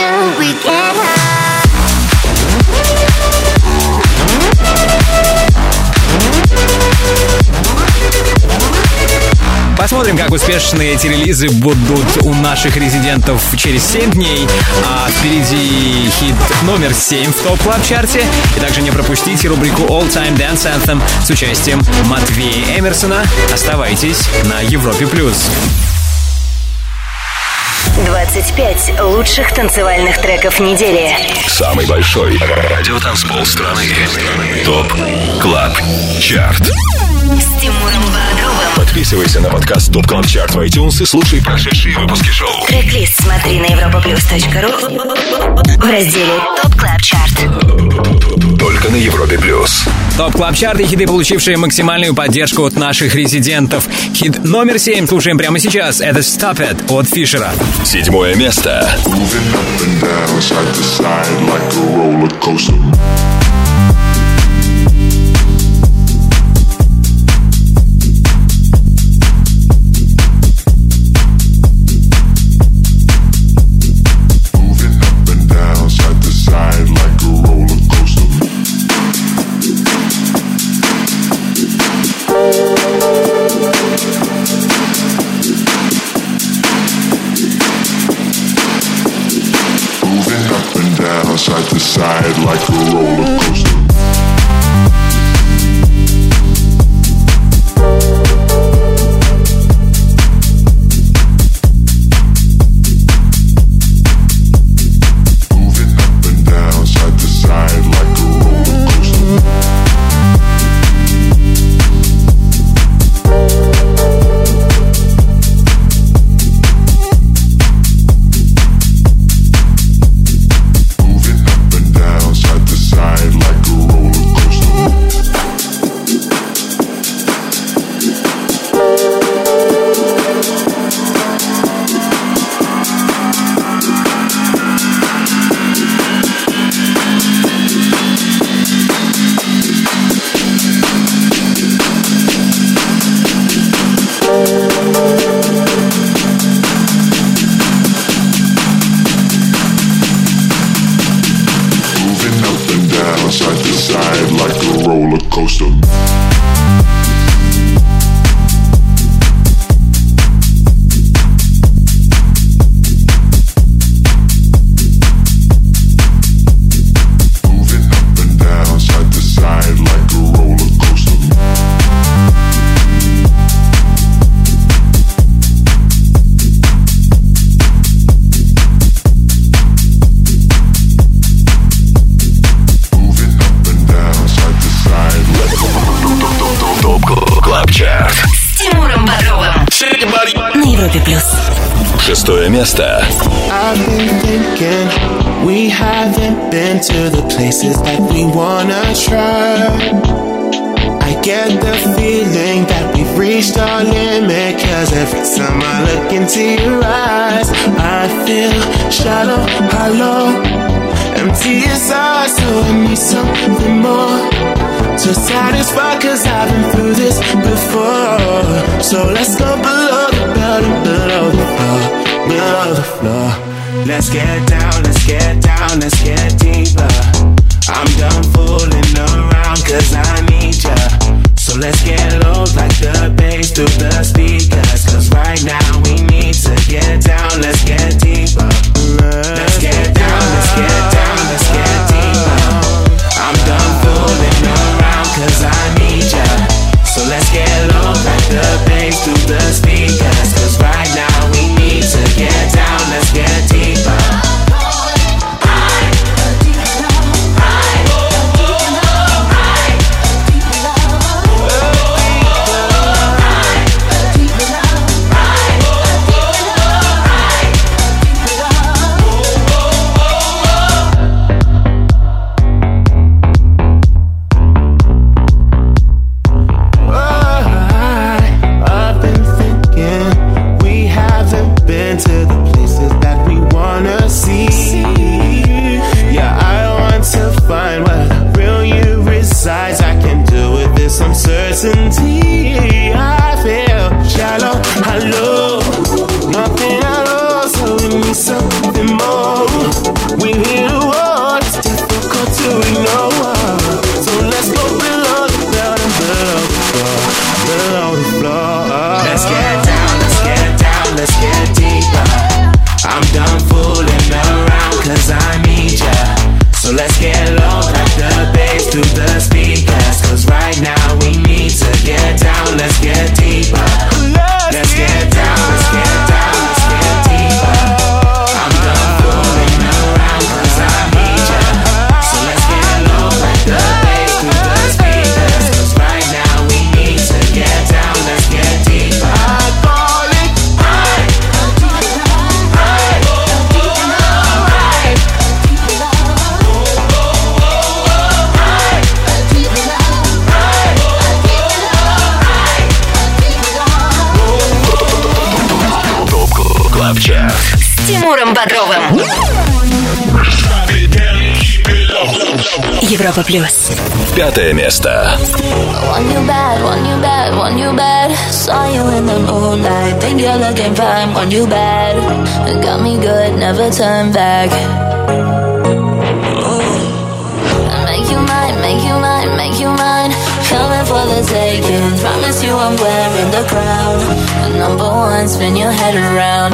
Посмотрим, как успешны эти релизы будут у наших резидентов через 7 дней. А впереди хит номер 7 в ТОП Клаб Чарте. И также не пропустите рубрику All Time Dance Anthem с участием Матвея Эмерсона. Оставайтесь на Европе+. 25 лучших танцевальных треков недели. Самый большой радиотанцпол страны. ТОП Клаб Чарт. С Тимуром Бодровым. Подписывайся на подкаст ТОП Клаб Чарт в iTunes и слушай прошедшие выпуски шоу. Трек-лист смотри на europaplus.ru в разделе ТОП Клаб Чарт. Только на Европе Плюс. ТОП Клаб Чарт и хиты, получившие максимальную поддержку от наших резидентов. Хит номер 7 слушаем прямо сейчас. Это Stop It от Фишера. 7 место. Side to side like a roller coaster. Шестое место. I've been thinking we haven't been to the places that we wanna try. I get the feeling that we've reached our limit, 'cause every time I look into your eyes, I feel shallow, hollow, empty inside, so I need something more to satisfy, 'cause I've been through this before. So let's go below the belt and below the floor, below the floor. Let's get down, let's get down, let's get deeper. I'm done fooling around 'cause I need ya. So let's get low like the bass through the speakers, 'cause right now we need to get down, let's get deeper. Let's get down, let's get down, let's get deeper. I'm done fooling around 'cause I need ya. So let's get low like the bass through the speakers, 'cause right now we need to get down, let's get deeper. Uncertainty, I feel shallow, hollow, nothing at all, so we need something more. We need a war, it's difficult to ignore. So let's go below the belt and below the floor, below the floor. Let's get down, let's get down, let's get deeper. I'm done fooling around 'cause I need ya. So let's get low like the bass through the speakers, 'cause right now we need to get down, let's get deeper. Let's get down, let's get down, let's get deeper. Тимуром Бодровым. Европа плюс. 5 место. Want you bad, want you bad, want you bad. Saw you in the moonlight, think you're looking fine. Want you bad, got me good, never turn back. Make you mine, make you mine, make you mine. Coming for the taking. Promise you I'm wearing the crown. Number one, spin your head around.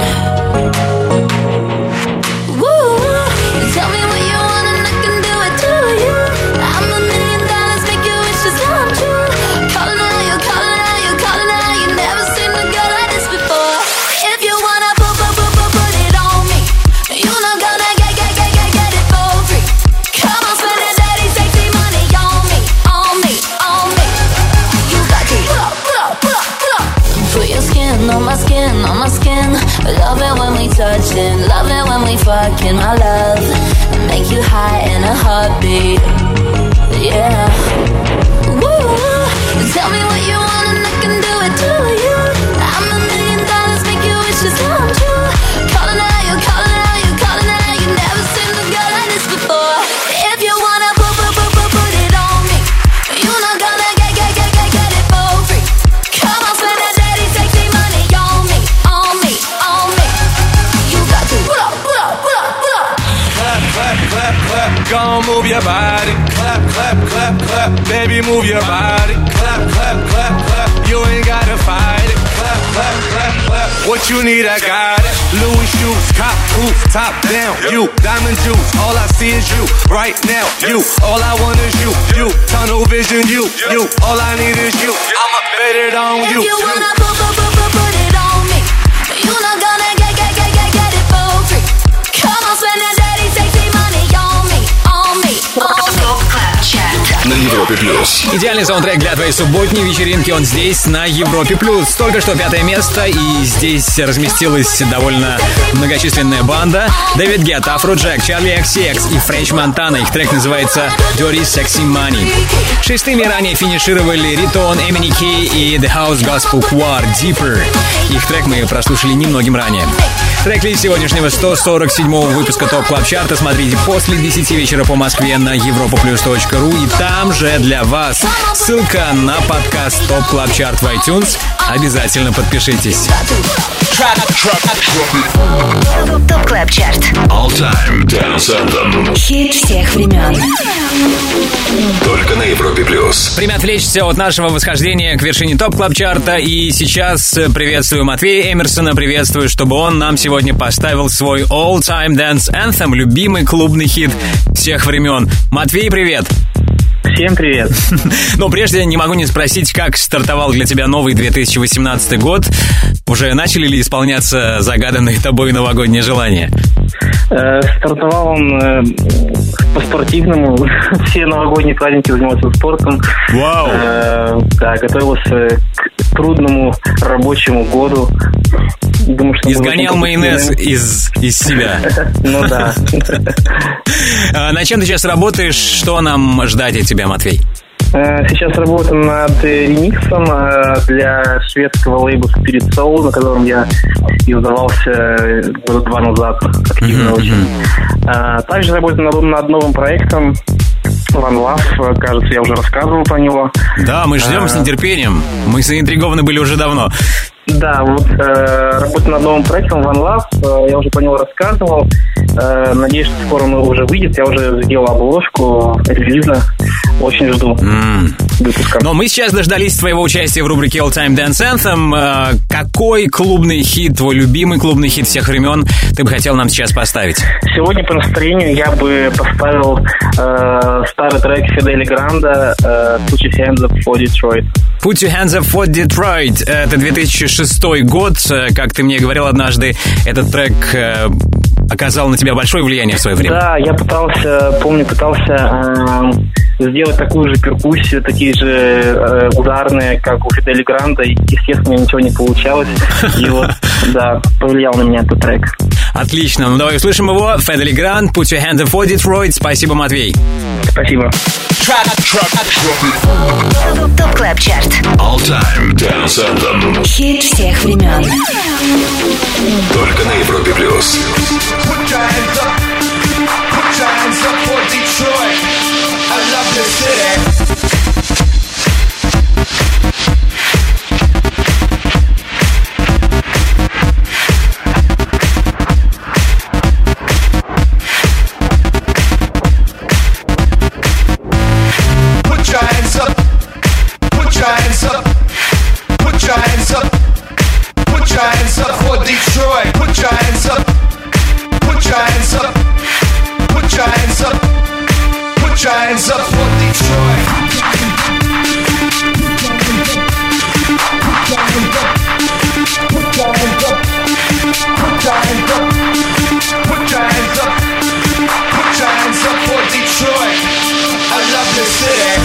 Woo, tell me what you want and I can do it to you. I'm $1 million, make your wishes come true. Calling out, you calling out, you calling out. You never seen a girl like this before. If you wanna put it on me, you not gonna get it for free. Come on, spend that dirty, sexy money on me, on me, on me. You got to pull up. Put your skin on my skin, on my skin. Love it when we touching, love it when we fucking, my love. Make you high in a heartbeat, yeah. Woo, tell me what you want and I can do it to you. I'm $1 million, make your wishes come true. Calling out, you calling out, you calling out. You never seen a girl like this before. If you wanna put it on me, you not gonna get it for free. Come on, spend that dirty, sexy money on me, on me, on me. You got to pull up. Clap, clap, clap, gon' move your body. Clap, clap, clap, clap, baby, move your body. Clap, clap, clap, clap, you ain't gotta fight it. Clap, clap, clap, clap, what you need, I got it. Louis shoes, cop boots, top down, you. Diamond juice, all I see is you. Right now, you. All I want is you. Tunnel vision, you. All I need is you. I'ma bet it on you. If you wanna put it on me, you not gonna get it for free. Come on, spend that dirty, sexy money on me, on me, on me. Топ Клаб Чарт. На Европе плюс. Идеальный саундтрек для твоей субботней вечеринки, он здесь, на Европе+. Только что 5 место, и здесь разместилась довольно многочисленная банда. Дэвид Гетта, Афроджек, Чарли XCX и Френч Монтана. Их трек называется Dirty Sexy Money. Шестыми ранее финишировали Ритон, Эмини Кей и The House Gospel Choir Deeper. Их трек мы прослушали немногим ранее. Трек-лист сегодняшнего 147-го выпуска ТОП Клаб Чарта смотрите после 10 вечера по Москве на europaplus.ru, и там же для вас ссылка на подкаст ТОП Клаб Чарт в iTunes. Обязательно подпишитесь. Топ Клаб Чарт. All Time Dance Anthem. Хит всех времен. Только на Европе плюс. Время отвлечься от нашего восхождения к вершине ТОП Клаб Чарта. И сейчас приветствую Матвея Эмерсона. Приветствую, чтобы он нам сегодня поставил свой All Time Dance Anthem, любимый клубный хит всех времен. Матвей, привет! Всем привет. Но прежде не могу не спросить, как стартовал для тебя новый 2018 год. Уже начали ли исполняться загаданные тобой новогодние желания? Стартовал он по-спортивному. Все новогодние праздники занимался спортом. Вау! Да, готовился к трудному рабочему году. Думаю, что изгонял майонез из себя. Ну да. На чем ты сейчас работаешь? Что нам ждать от тебя, Матвей? Сейчас работаю над ремиксом для шведского лейбла Spirit Soul, на котором я издавался года 2 назад активно очень. Также работаю над новым проектом One Love, кажется, я уже рассказывал про него. Да, мы ждем с нетерпением. Мы заинтригованы были уже давно. Да, вот работаю над новым проектом One Love, я уже про него рассказывал. Надеюсь, что скоро он уже выйдет. Я уже сделал обложку релиза. Очень жду выпуска. Но мы сейчас дождались твоего участия в рубрике All Time Dance Anthem. Какой клубный хит, твой любимый клубный хит всех времен, ты бы хотел нам сейчас поставить? Сегодня по настроению я бы поставил старый трек Фидели Гранда Put Your Hands Up for Detroit. Put Your Hands Up for Detroit. Это 2006 год. Как ты мне говорил однажды, этот трек оказал на тебя большое влияние в свое время. Да, я пытался сделать такую же перкуссию, такие же ударные, как у Фидели Гранда. Естественно, ничего не получалось. И вот, да, повлиял на меня этот трек. Отлично, ну давай услышим его. Фидели Гранд, Put Your Hands Up for Detroit. Спасибо, Матвей. Спасибо. ТОП КЛАБ ЧАРТ. All Time Dance Anthem. Хит всех времен. Только на Европе плюс. Hands up for Detroit. Put your hands up. Put your hands up. Put your hands up. Put your hands up for Detroit. I love this city.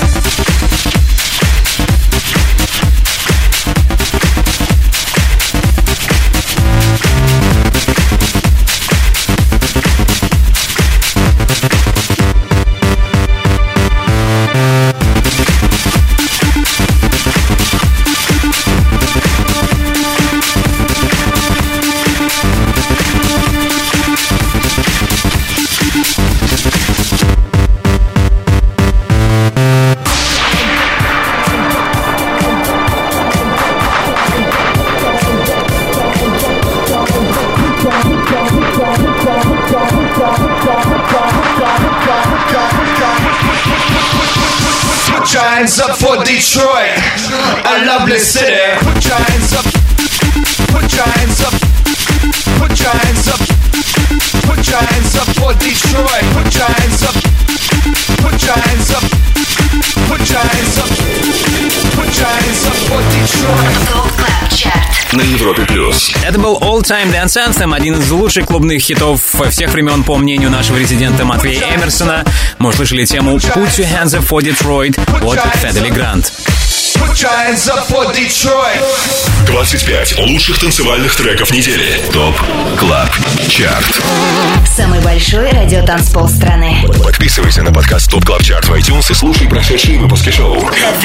Put your hands up for Detroit, a lovely city. Put your hands up. Put your hands up. Put your hands up. Put your hands up for Detroit. Put your hands up. Put your hands up. Put your hands up. Put your hands up for Detroit. ТОП КЛАБ ЧАРТ. На Европе плюс. Это был All Time Dance Anthem, один из лучших клубных хитов всех времен, по мнению нашего резидента Матвея Эмерсона. Мы услышали тему Put Your Hands Up for Detroit от Федели Грант. Put your hands up for Detroit. 25 лучших танцевальных треков недели. ТОП КЛАБ ЧАРТ. Самый большой радиотанцпол страны. Подписывайся на подкаст ТОП КЛАБ ЧАРТ в iTunes и слушай прошедшие выпуски шоу.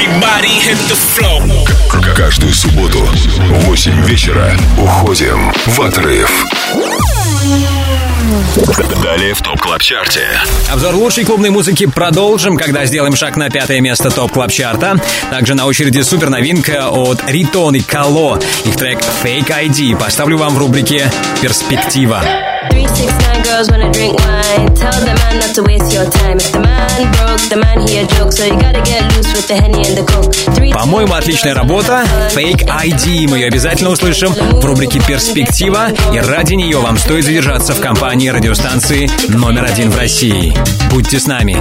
Каждую субботу в 8 вечера уходим в отрыв. Далее в ТОП КЛАБ ЧАРТе. Обзор лучшей клубной музыки продолжим, когда сделаем шаг на 5-е место ТОП КЛАБ ЧАРТа. Также на очереди супер новинка от Ритон и Кало. Их трек Fake ID поставлю вам в рубрике «Перспектива». 369 girls wanna drink wine. Tell the man not to waste your time. If the man broke, the man he a joke. So you gotta get loose with the Henny and the Coke. По-моему, отличная работа. Fake ID. Мы ее обязательно услышим в рубрике «Перспектива». И ради нее вам стоит задержаться в компании радиостанции номер 1 в России. Будьте с нами.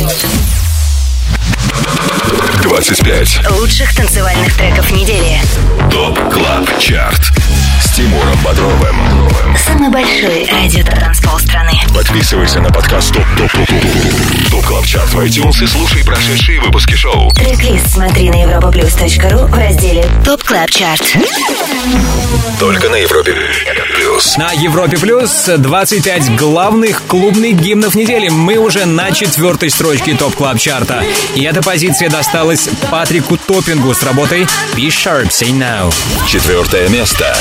25 лучших танцевальных треков недели. ТОП КЛАБ ЧАРТ с Тимуром Бодровым. Самый большой радиотанцпол страны. Подписывайся на подкаст ТОП КЛАБ ЧАРТ в iTunes и слушай прошедшие выпуски шоу. Трек-лист смотри на europaplus.ru в разделе ТОП КЛАБ ЧАРТ. Только на Европе плюс. На Европе плюс 25 главных клубных гимнов недели. Мы уже на 4-й строчке ТОП КЛАБ ЧАРТа. И эта позиция досталась Патрику Топпингу с работой Be Sharp, Say Now. 4-е место.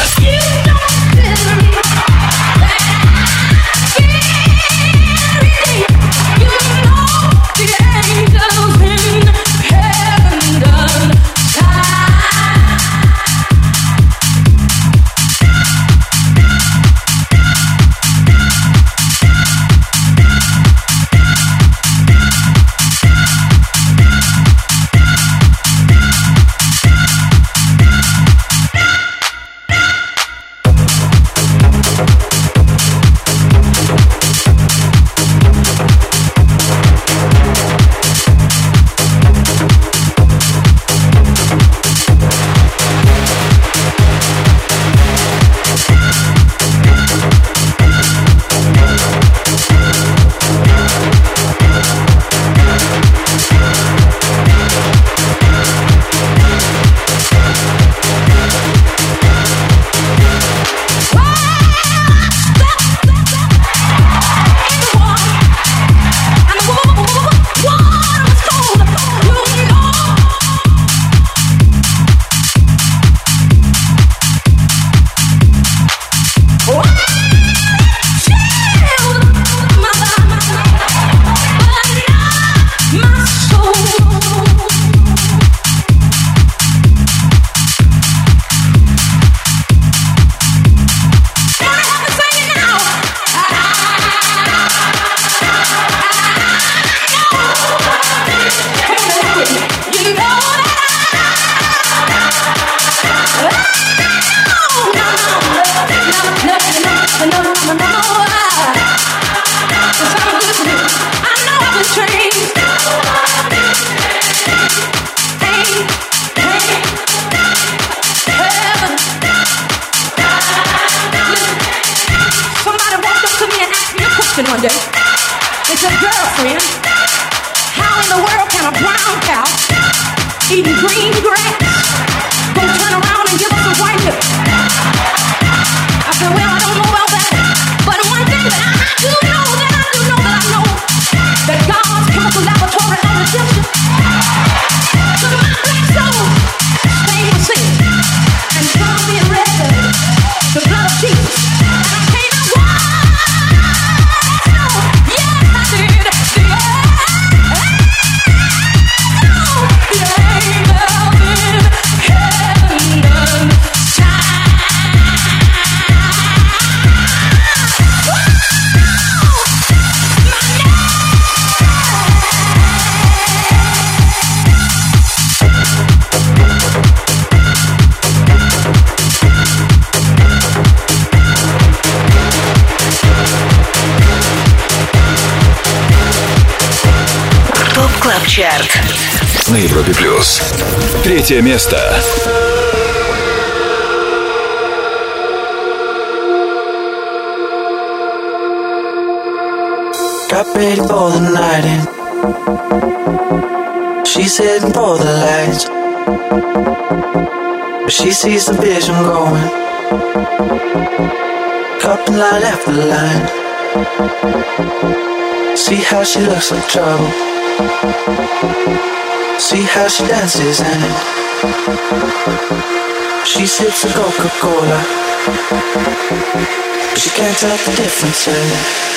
eating green grass. Gonna turn around and give us a white look. I said, well, I don't know about that, but one thing that I do know, that God's chemical laboratory of redemption. So my black soul, stay with sin and come being ready. The blood of Jesus. And I came out wild. Yes, I did. Клаб Чарт на Европе Плюс. 3 место. Got ready for the night in. She's heading for the lights, but she sees the vision going. Cupping line after line. See how she looks like trouble. See how she dances and she sips a Coca-Cola, but she can't tell the difference yet.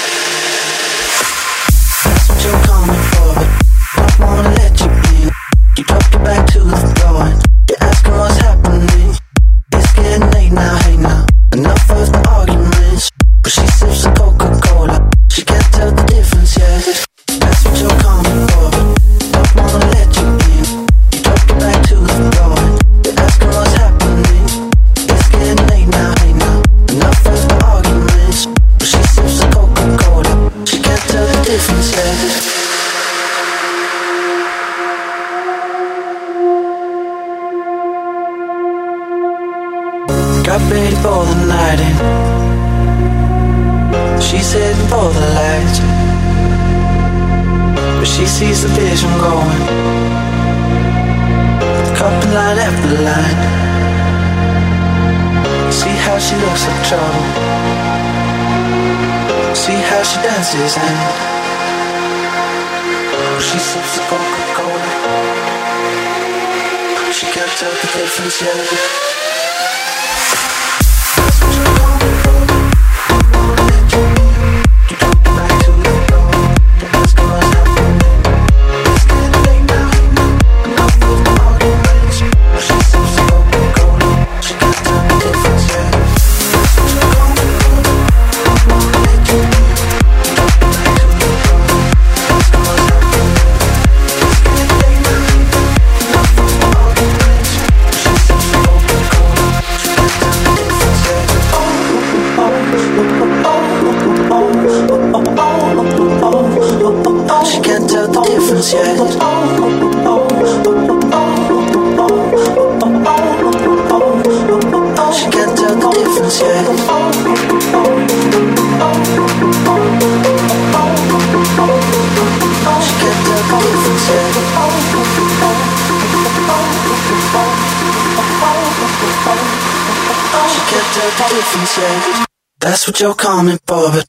That's what you're coming for, but don't wanna let you in. You drop your back to the floor and you're asking what's happening. It's getting late now, hey now. Enough of the arguments, but she sips a Coca-Cola. She can't tell the difference yet. That's what you're coming for, but don't wanna let you in. You drop your back to the floor and you're asking what's happening. It's getting late now, hey now. Enough of the arguments, but she sips a Coca-Cola. She can't tell the difference yet. Got ready for the night in. She's heading for the lights, but she sees the vision going. Cupping line after line. See how she looks like trouble. See how she dances and she sips the Coca-Cola. She can't tell the difference yet. She can't tell the difference yet. She can't tell the difference yet. She can't tell the difference yet. She can't tell the difference yet. That's what you're coming for, but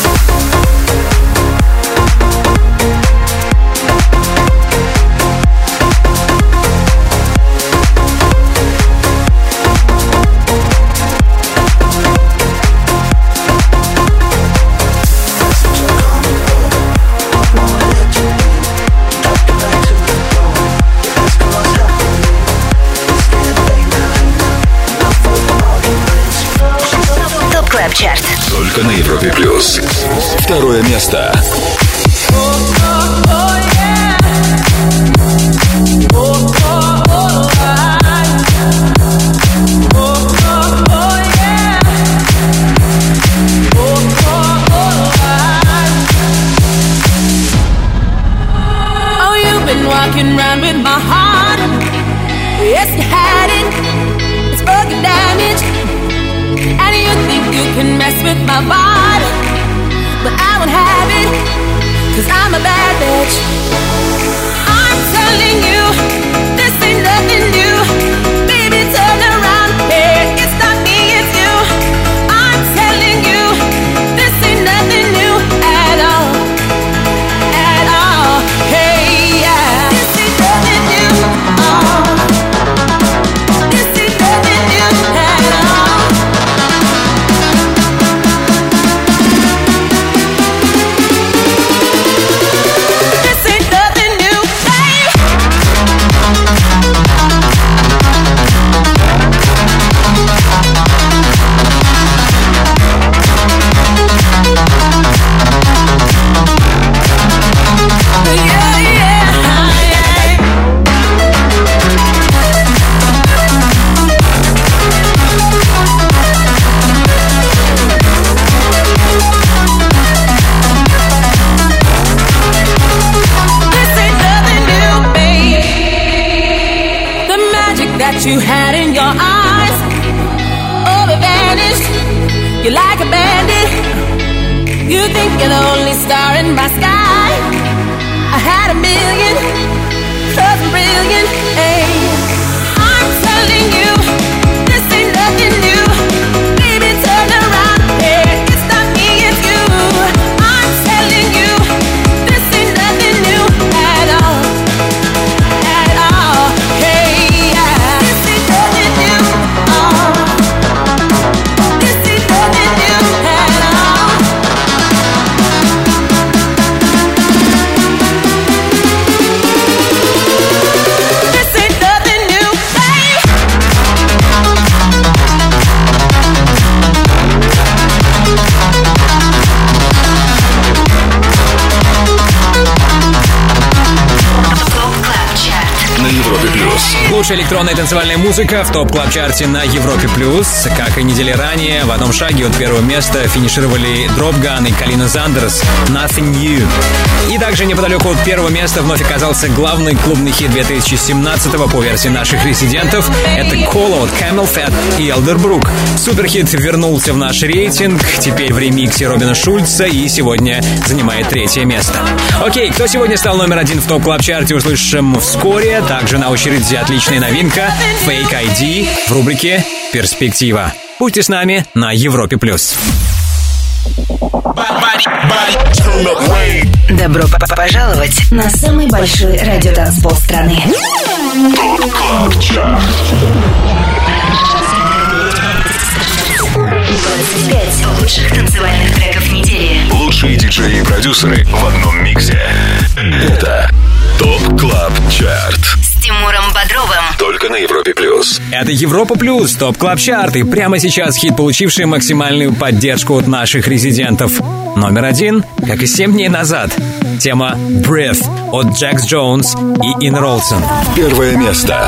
Чарт. Только на Европе Плюс. 2 место. Oh, you've been walking around with my heart. Yes, you had it. It's fucking damage. And you think you can mess with my body, but I won't have it, 'cause I'm a bad bitch. I'm telling you, this ain't that you had in your eyes. Oh, it vanished. You're like a bandit. You think you're the only star in my sky. I had a million, something brilliant. Hey, I'm telling you, this ain't nothing new. Baby, turn around. Yeah, it's not me, it's you. I'm telling you, this ain't nothing new at all. At all. Hey, yeah. This ain't nothing new. This ain't nothing new at all. This ain't nothing new, hey. На Европе плюс. Лучшая электронная танцевальная музыка в топ-клаб-чарте на Европе+. Как и недели ранее, в одном шаге от первого места финишировали Дропган и Калина Зандерс «Nothing New». И также неподалеку от первого места вновь оказался главный клубный хит 2017-го по версии наших резидентов. Это «Call» от Camel Fat и Elderbrook. Суперхит вернулся в наш рейтинг, теперь в ремиксе Робина Шульца и сегодня занимает третье место. Окей, кто сегодня стал номер один в топ-клаб-чарте, услышим вскоре. Также на очереди отличная новинка Fake ID в рубрике «Перспектива». Будьте с нами на Европе+. Добро пожаловать на самый большой радиотанцпол страны. 25 лучших танцевальных треков недели. Лучшие диджеи и продюсеры в одном миксе. Это ТОП КЛАБ ЧАРТ С Тимуром Бодровым. только на Европе плюс. Это Европа Плюс, ТОП Клаб Чарт. И прямо сейчас хит, получивший максимальную поддержку от наших резидентов. Номер один, как и 7 дней назад. Тема «Breath» от Jax Jones и Ин Ролсон. Первое место.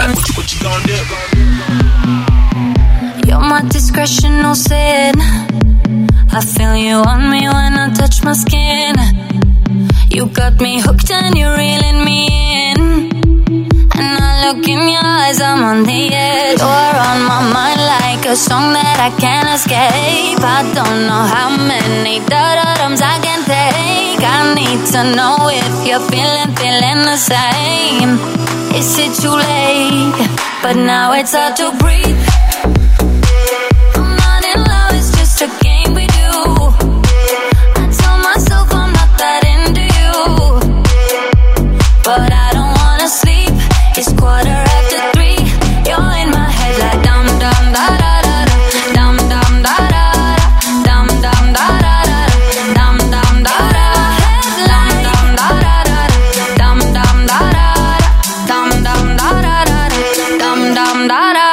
You're my discretion, no sin. I feel you on me when I touch my skin. You got me hooked and you're reeling me in. And I look in your eyes, I'm on the edge. You're on my mind like a song that I can't escape. I don't know how many da-da-dums I can take. I need to know if you're feeling the same. Is it too late? But now it's hard to breathe. I'm not in love, it's just a game we do. I tell myself I'm not that into you, but I don't wanna sleep. It's 3:15. You're in my head like dum dum da da da da, dum dum da da da, dum dum da da da, dum dum da da, dum dum da da da, dum dum da da, dum dum da da da, dum dum da da.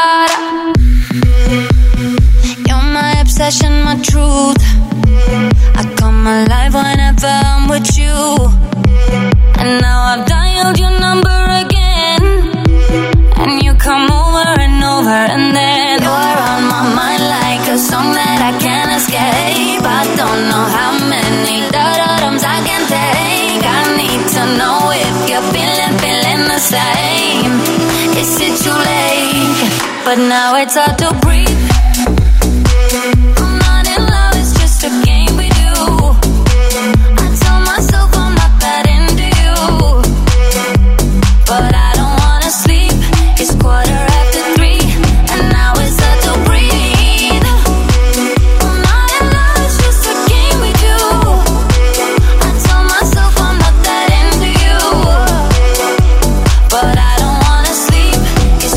You're my obsession, my truth. I come alive whenever I'm with you. And now I've dialed your number again. And you come over and over. And then you're on my mind like a song that I can't escape. I don't know how many da-da-dums I can take. I need to know if you're feeling the same. Is it too late? But now it's hard to breathe. I'm not in love, it's just a game we do. I tell myself I'm not that into you, but I don't wanna sleep. It's 3:15, and now it's hard to breathe. I'm not in love, it's just a game we do. I tell myself I'm not that into you, but I don't wanna sleep. It's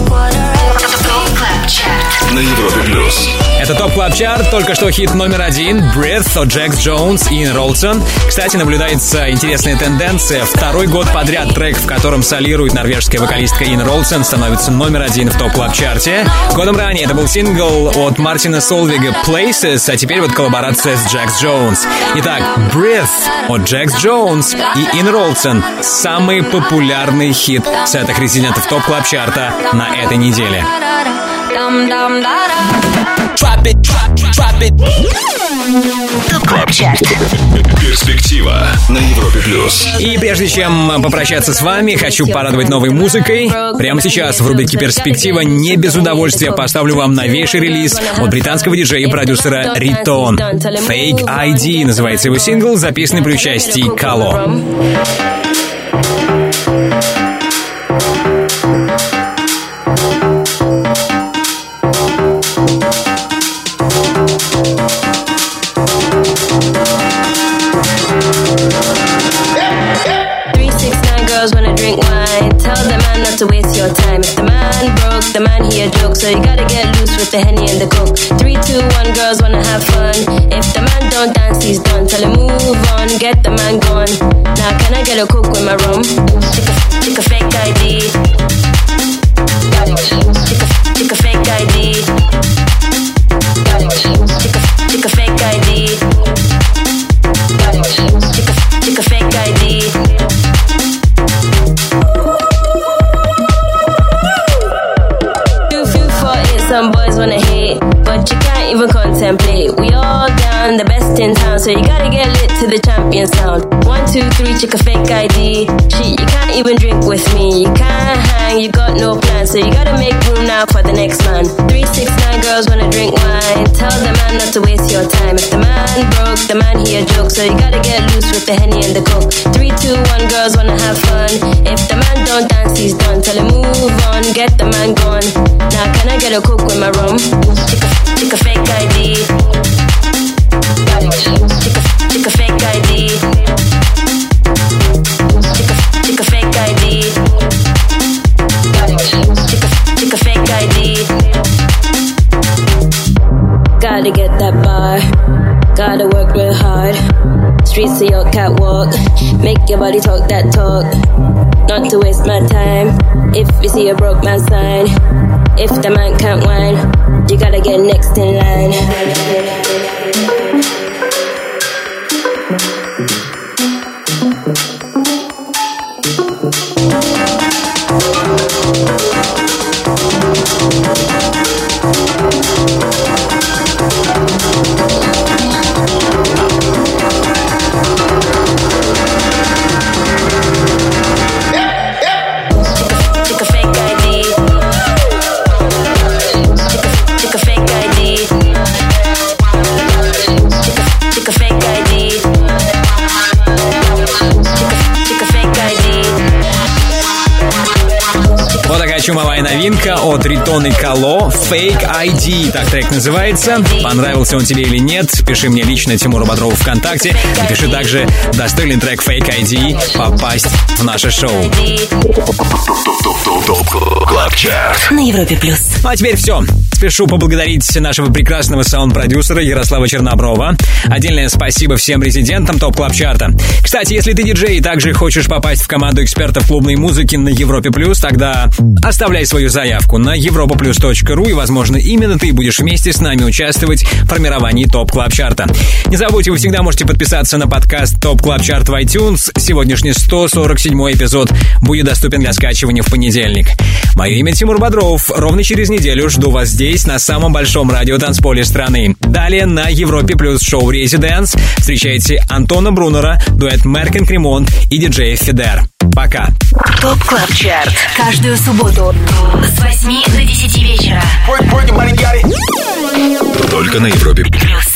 3:15. На Европе плюс. Это ТОП Клаб Чарт, только что хит номер один «Breath» от Jax Jones и Ин Ролсон. Кстати, наблюдается интересная тенденция. Второй год подряд трек, в котором солирует норвежская вокалистка Ин Ролсон, становится номер один в ТОП Клаб Чарте. Годом ранее это был сингл от Мартина Солвига «Places», а теперь вот коллаборация с Jax Jones. Итак, «Breath» от Jax Jones и Ин Ролсон — самый популярный хит сетах резидентов ТОП Клаб Чарта на этой неделе. Dum dum da da. Drop it, drop, drop. drop it. ТОП КЛАБ ЧАРТ. Перспектива на Европе плюс. И прежде чем попрощаться с вами, хочу порадовать новой музыкой. Прямо сейчас в рубрике «Перспектива» не без удовольствия поставлю вам новейший релиз от британского диджея и продюсера Ритон. Fake ID называется его сингл, записанный при участии Кало. 369 girls wanna drink wine. Tell the man not to waste your time. If the man broke, the man he a joke. So you gotta get loose with the Henny and the Coke. 3, 2, 1, girls wanna have fun. If the man don't dance, he's done. Tell him move on, get the man gone. Now can I get a Coke with my rum? Take a fake ID. Take a fake ID. Take a fake ID. Take a fake ID. Some boys wanna hate, but you can't even contemplate. We all down, the best in town, so you gotta get lit to the champion sound. 1, 2, 3, check a fake ID. Shit, you can't even drink with me. You can't hang, you got no plan, so you gotta make room now for the next man. 369 girls wanna drink wine. Tell the man not to waste your time. If the man broke, the man he a joke, so you gotta get loose with the Henny and the Coke. 3, 2, 1, girls wanna have fun. If the man don't dance, he's done. Tell him move on, get the man gone. Now can I get a Coke with my rum? Take a fake ID. Take a fake ID. Take a fake ID. Take a fake ID. Gotta get that bar. Gotta work real hard. Streets of your catwalk. Make your body talk that talk. Not to waste my time. If you see a broke man sign. If the man can't whine, you gotta get next in line. Чумовая новинка от Ритон и Кало, Fake ID, так трек называется. Понравился он тебе или нет, пиши мне лично, Тимуру Бодрову ВКонтакте. И пиши также, достоин трек Fake ID попасть в наше шоу. На Европе плюс. Ну а теперь все. Спешу поблагодарить нашего прекрасного саунд-продюсера Ярослава Черноброва. Отдельное спасибо всем резидентам ТОП КЛАБ ЧАРТа. Кстати, если ты диджей и также хочешь попасть в команду экспертов клубной музыки на Европе плюс, тогда оставляй свою заявку на europaplus.ru, и, возможно, именно ты будешь вместе с нами участвовать в формировании ТОП КЛАБ ЧАРТа. Не забудьте, вы всегда можете подписаться на подкаст ТОП КЛАБ ЧАРТ в iTunes. Сегодняшний 147-й эпизод будет доступен для скачивания в понедельник. Мое имя Тимур Бодров. Ровно через неделю жду вас здесь, на самом большом радиотанцполе страны. Далее на Европе плюс шоу «Резиденс» встречайте Антона Брунера, дуэт Мерк энд Кремонт и диджей Федер. Пока. ТОП КЛАБ ЧАРТ. Каждую субботу с 8 до 10 вечера. Только на Европе плюс.